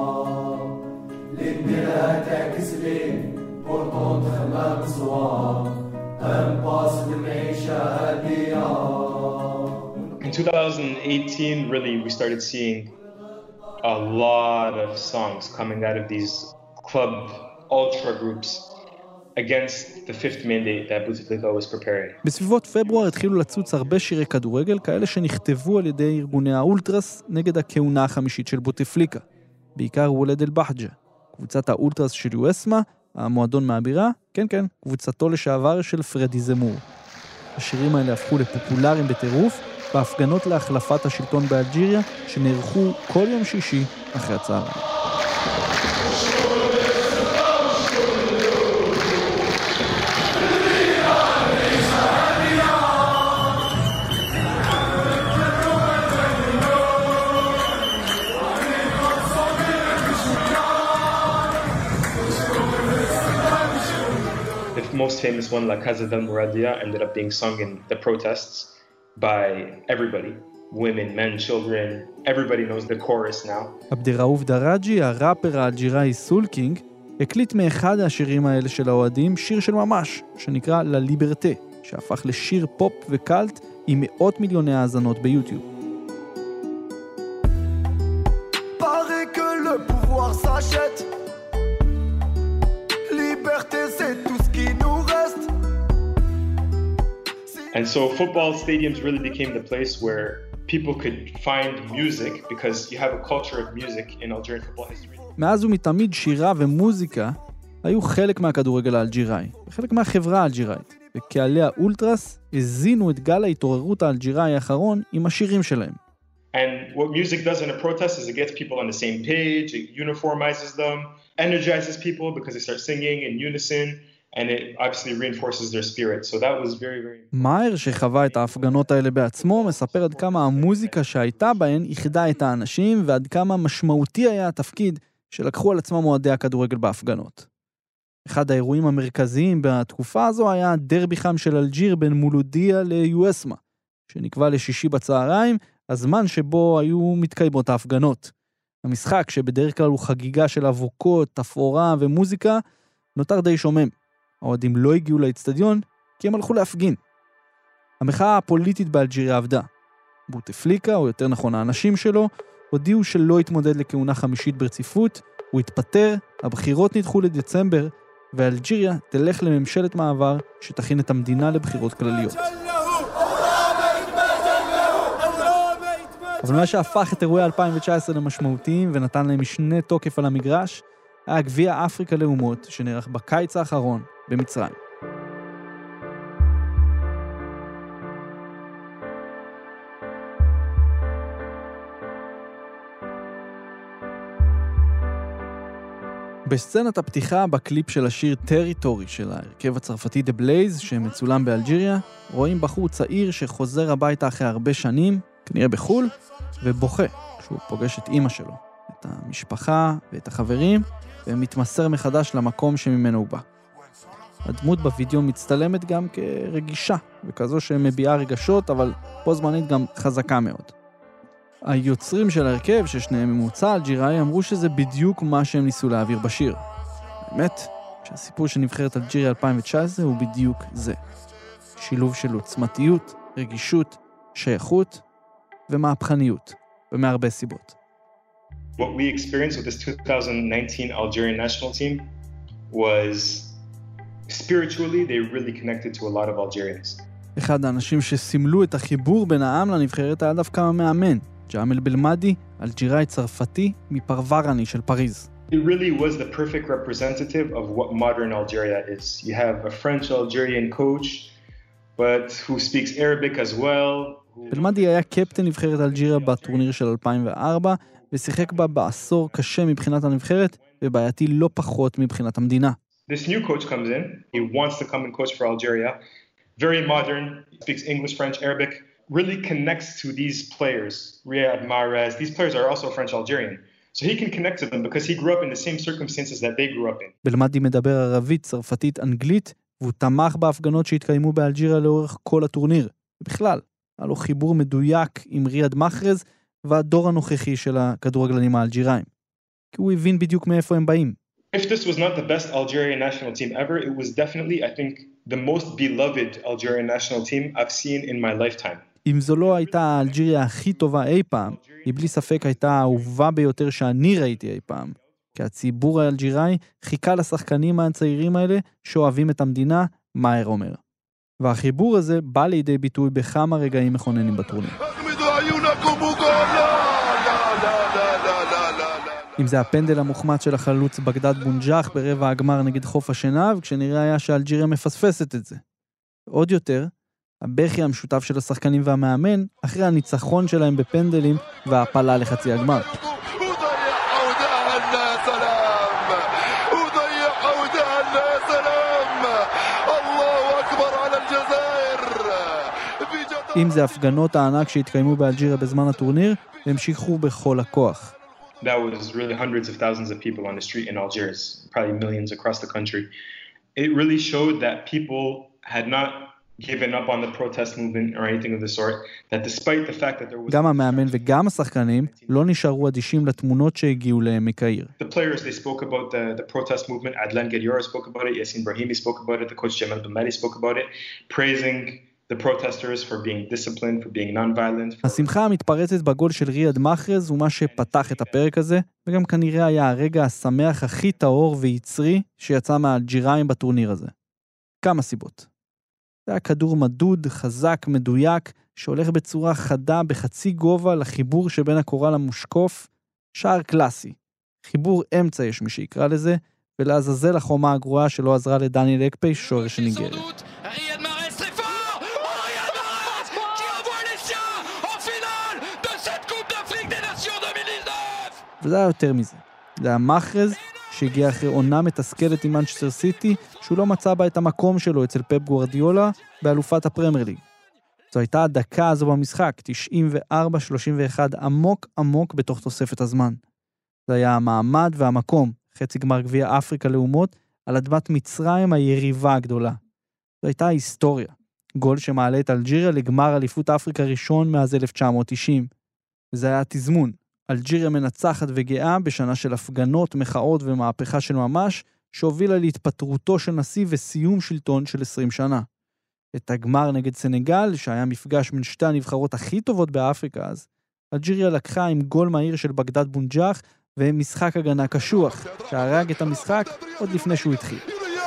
لنديرها تعكس لي بورطون تخمام صواب أنباس المعيشة هادية. In two thousand eighteen, really, we started seeing a lot of songs coming out of these club ultra groups against the fifth mandate that Bouteflika was preparing. בסביבות פברואר התחילו לצוץ הרבה שירי כדורגל, כאלה שנכתבו על ידי ארגוני האולטרס נגד הכהונה החמישית של בוטפליקה. בעיקר וולד אל-בחג'ה, קבוצת האולטרס של יואסמה, המועדון מהבירה, כן כן, קבוצתו לשעבר של פרדי זמור. השירים האלה הפכו לפופולריים בטירוף, בהפגנות להחלפת השלטון באלג'יריה, שנערכו כל יום שישי אחרי הצהריים. The most famous one, La Casa del Mouradia, ended up being sung in the protests by everybody. Women, men, children. Everybody knows the chorus now. עבדראוף דראג'י, הראפר האלג'יראי סול קינג, הקליט מאחד השירים האלה של האוהדים שיר של ממש, שנקרא לה ליברטה, שהפך לשיר פופ וקלט עם מאות מיליוני האזנות ביוטיוב. Paraît que le pouvoir s'achète. Liberté, c'est tout ce qui nous reste. And so football stadiums really became the place where people could find music because you have a culture of music in Algerian football history. מאז ומתמיד שירה ומוזיקה היו חלק מהכדורגל האלג'יראי, וחלק מהחברה האלג'יראית, וקהלי האולטרס הזינו את גל ההתעוררות האלג'יראי האחרון עם השירים שלהם. And what music does in a protest is it gets people on the same page, it uniformizes them, energizes people because they start singing in unison, and it obviously reinforces their spirit. So that was very, very... מאייר, שחווה את ההפגנות האלה בעצמו, מספר עד כמה המוזיקה שהייתה בהן איחדה את האנשים, ועד כמה משמעותי היה התפקיד שלקחו על עצמם אוהדי הכדורגל בהפגנות. אחד האירועים המרכזיים בתקופה הזו היה דרבי חם של אלג'יר בין מולודיה ליואסמה, שנקבע לשישי בצהריים, הזמן שבו היו מתקיימות ההפגנות. המשחק, שבדרך כלל הוא חגיגה של אבוקות, תפאורה ומוזיקה, נותר די שומם. האוהדים לא הגיעו לאצטדיון, כי הם הלכו להפגין. המחאה הפוליטית באלג'יריה עבדה. בוטפליקה, או יותר נכון האנשים שלו, הודיעו שלא התמודד לכהונה חמישית ברציפות, הוא התפטר, הבחירות נדחו לדצמבר, ואלג'יריה תלך לממשלת מעבר שתכין את המדינה לבחירות כלליות. אבל מה שהפך את אירועי אלפיים תשע עשרה למשמעותיים ונתן להם משנה תוקף על המגרש, היה גביע אפריקה לאומות שנערך בקיץ האחרון במצרים. בסצנת הפתיחה בקליפ של השיר טריטורי של ההרכב הצרפתי The Blaze שמצולם באלג'יריה, רואים בחור צעיר שחוזר הביתה אחרי הרבה שנים, כנראה בחול, ובוכה כשהוא פוגש את אמא שלו, את המשפחה ואת החברים, ומתמסר מחדש למקום שממנו הוא בא. הדמות בווידאו מצטלמת גם כרגישה, וכזו שמביעה רגשות, אבל פה זמנית גם חזקה מאוד. היוצרים של ההרכב, ששניהם ממוצא אלג'יראי, אמרו שזה בדיוק מה שהם ניסו להעביר בשיר. האמת, שהסיפור של נבחרת אלג'יריה אלפיים תשע עשרה הוא בדיוק זה. שילוב של עוצמתיות, רגישות, שייכות ומהפכניות, ומהרבה סיבות. What we experienced with this twenty nineteen Algerian national team was spiritually they really connected to a lot of Algerians. אחד האנשים שסימלו את החיבור בין העם לנבחרת היה דווקא המאמן, ג'אמל בלמדי, אלג'יראי צרפתי מפרוורני של פריז. It really was the perfect representative of what modern Algeria is. You have a French Algerian coach, but who speaks Arabic as well. בלמדי היה קפטן נבחרת אלג'יריה בטורניר של אלפיים וארבע, ושיחק בה בעשור קשה מבחינת הנבחרת, ובעייתי לא פחות מבחינת המדינה. This new coach comes in, he wants to come and coach for Algeria, very modern, speaks English, French, Arabic, really connects to these players, Riyad Mahrez. These players are also French-Algerian. So he can connect to them because he grew up in the same circumstances that they grew up in. בלמדי מדבר ערבית, צרפתית, אנגלית, והוא תמך בהפגנות שהתקיימו באלג'יריה לאורך כל הטורניר. בכלל, היה לו חיבור מדויק עם ריאד מחרז והדור הנוכחי של הכדורגלנים האלג'יראים. כי הוא הבין בדיוק מאיפה הם באים. If this was not the best Algerian national team ever, it was definitely, I think, the most beloved Algerian national team I've seen in my lifetime. אם זו לא הייתה האלג'יריה הכי טובה אי פעם, היא בלי ספק הייתה האהובה ביותר שאני ראיתי אי פעם. כי הציבור האלג'יראי חיכה לשחקנים הצעירים האלה שאוהבים את המדינה, מאהר אומר. והחיבור הזה בא לידי ביטוי בכמה רגעים מכוננים בטורניר. אם זה הפנדל המוחמץ של החלוץ בגדד בונג'ח ברבע הגמר נגד חוף השנהב, כשנראה היה שאלג'יריה מפספסת את זה. עוד יותר, הבכי המשותף של השחקנים והמאמן, אחרי הניצחון שלהם בפנדלים וההפלה לחצי הגמר. אם זה הפגנות הענק שהתקיימו באלג'יריה בזמן הטורניר, המשיכו בכל הכוח. That was really hundreds of thousands of people on the street in Algiers, probably millions across the country. It really showed that people had not given up on the protest movement or anything of the sort, that despite the fact that there was... גם המאמן וגם השחקנים לא נשארו אדישים לתמונות שהגיעו להם מקהיר. The players, they spoke about the, the protest movement. Adlan Gadiora spoke about it, Yassin Brahimi spoke about it, the coach Jamal Bamadi spoke about it, praising the protesters for being disciplined, for being non-violent. השמחה המתפרצת בגול של ריאד מחרז הוא מה שפתח את הפרק הזה, וגם כנראה היה הרגע השמח הכי טהור ויצרי שיצא מהאלג'יראים בטורניר הזה. כמה סיבות. זה היה כדור מדוד, חזק, מדויק, שהולך בצורה חדה בחצי גובה לחיבור שבין הקורל למושקוף, שער קלאסי. חיבור אמצע יש מי שיקרא לזה, ולעזאזל החומה הגרועה שלא עזרה לדניאל אקפי, שוער של ניגריה. וזה היה יותר מזה. זה היה מחרז שהגיע אחרי עונה מתסכלת עם מנצ'סטר סיטי, שהוא לא מצא בה את המקום שלו אצל פפ גוארדיולה באלופת הפרמייר ליג. זו הייתה הדקה הזו במשחק, תשעים וארבע שלושים ואחת, עמוק עמוק בתוך תוספת הזמן. זה היה המעמד והמקום, חצי גמר גביע אפריקה לאומות, על אדמת מצרים היריבה הגדולה. זו הייתה היסטוריה. גול שמעלה את אלג'יריה לגמר אליפות אפריקה ראשון מאז אלף תשע מאות תשעים. וזה היה תזמון. אלג'יריה מנצחת וגאה בשנה של הפגנות, מחאות ומהפכה של ממש, שהובילה להתפטרותו של נשיא וסיום שלטון של עשרים שנה. את הגמר נגד סנגל, שהיה מפגש מן שתי הנבחרות הכי טובות באפריקה אז, אלג'יריה לקחה עם גול מהיר של בגדד בונג'ח ומשחק הגנה קשוח, שהרג את המשחק עוד לפני שהוא התחיל.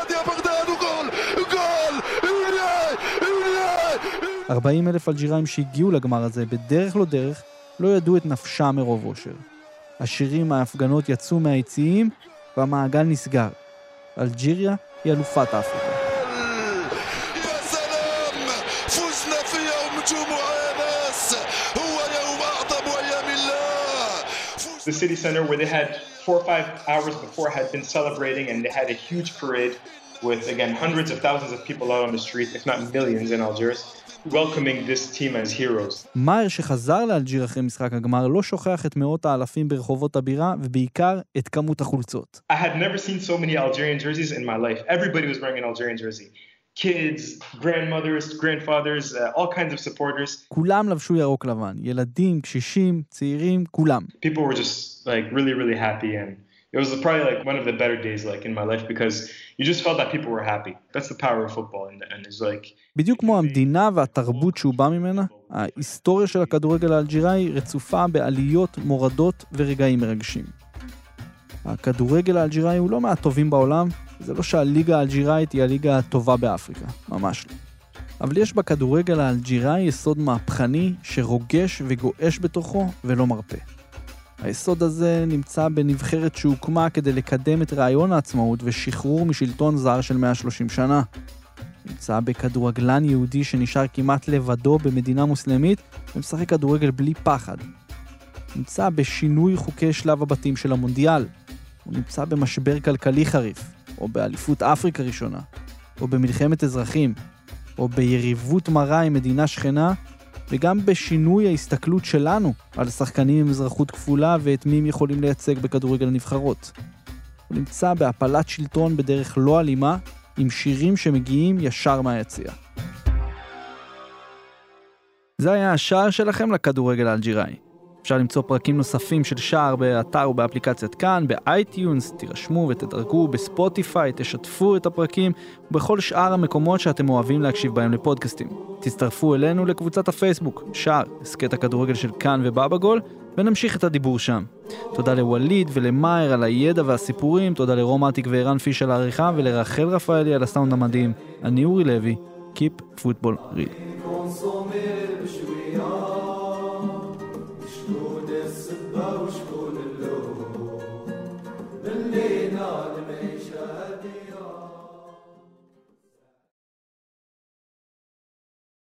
ארבעים אלף אלג'יראים שהגיעו לגמר הזה בדרך לא דרך, לא ידעו את נפשם מרוב אושר. השירים מההפגנות יצאו מהיציעים, והמעגל נסגר. אלג'יריה היא אלופת אפריקה. The city center where they had four or five hours before had been celebrating, and they had a huge parade with, again, hundreds of thousands of people out on the street, if not millions in Algiers, welcoming this team as heroes. מאהר שחזר לאלג'יר אחרי משחק הגמר לא שוכח את מאות האלפים ברחובות הבירה, ובעיקר את כמות החולצות. I had never seen so many Algerian jerseys in my life. Everybody was wearing an Algerian jersey. Kids, grandmothers, grandfathers, uh, all kinds of supporters. כולם לבשו ירוק לבן, ילדים, קשישים, צעירים, כולם. People were just like really, really happy, and it was probably like one of the better days like in my life because you just felt that people were happy. That's the power of football, and, and it's like. בדיוק כמו המדינה והתרבות שהוא בא ממנה, ההיסטוריה של הכדורגל האלג'יראי רצופה בעליות, מורדות ורגעים מרגשים. הכדורגל האלג'יראי הוא לא מהטובים בעולם, זה לא שהליגה האלג'יראית היא הליגה הטובה באפריקה, ממש לא. אבל יש בכדורגל האלג'יראי יסוד מהפכני שרוגש וגואש בתוכו ולא מרפא. היסוד הזה נמצא בנבחרת שהוקמה כדי לקדם את רעיון העצמאות ושחרור משלטון זר של מאה ושלושים שנה. נמצא בכדורגלן יהודי שנשאר כמעט לבדו במדינה מוסלמית ומשחק כדורגל בלי פחד. נמצא בשינוי חוקי שלב הבתים של המונדיאל. הוא נמצא במשבר כלכלי חריף, או באליפות אפריקה ראשונה, או במלחמת אזרחים. או ביריבות מרה עם מדינה שכנה, וגם בשינוי ההסתכלות שלנו על שחקנים עם אזרחות כפולה ואת מי הם יכולים לייצג בכדורגל הנבחרות. הוא נמצא בהפלת שלטון בדרך לא אלימה, עם שירים שמגיעים ישר מהיציאה. זה היה השער שלכם לכדורגל האלג'יראי. אפשר למצוא פרקים נוספים של שער באתר ובאפליקציית כאן, באייטיונס, תירשמו ותדרגו, בספוטיפיי, תשתפו את הפרקים, ובכל שאר המקומות שאתם אוהבים להקשיב בהם לפודקאסטים. תצטרפו אלינו לקבוצת הפייסבוק, שער, הסקט הכדורגל של כאן ובאבא גול, ונמשיך את הדיבור שם. תודה לווליד ולמאיר על הידע והסיפורים, תודה לרומטיק ואירן פיש על העריכה, ולרחל רפאלי על הסאונד המדהים. אני אורי לוי, Keep Football Real.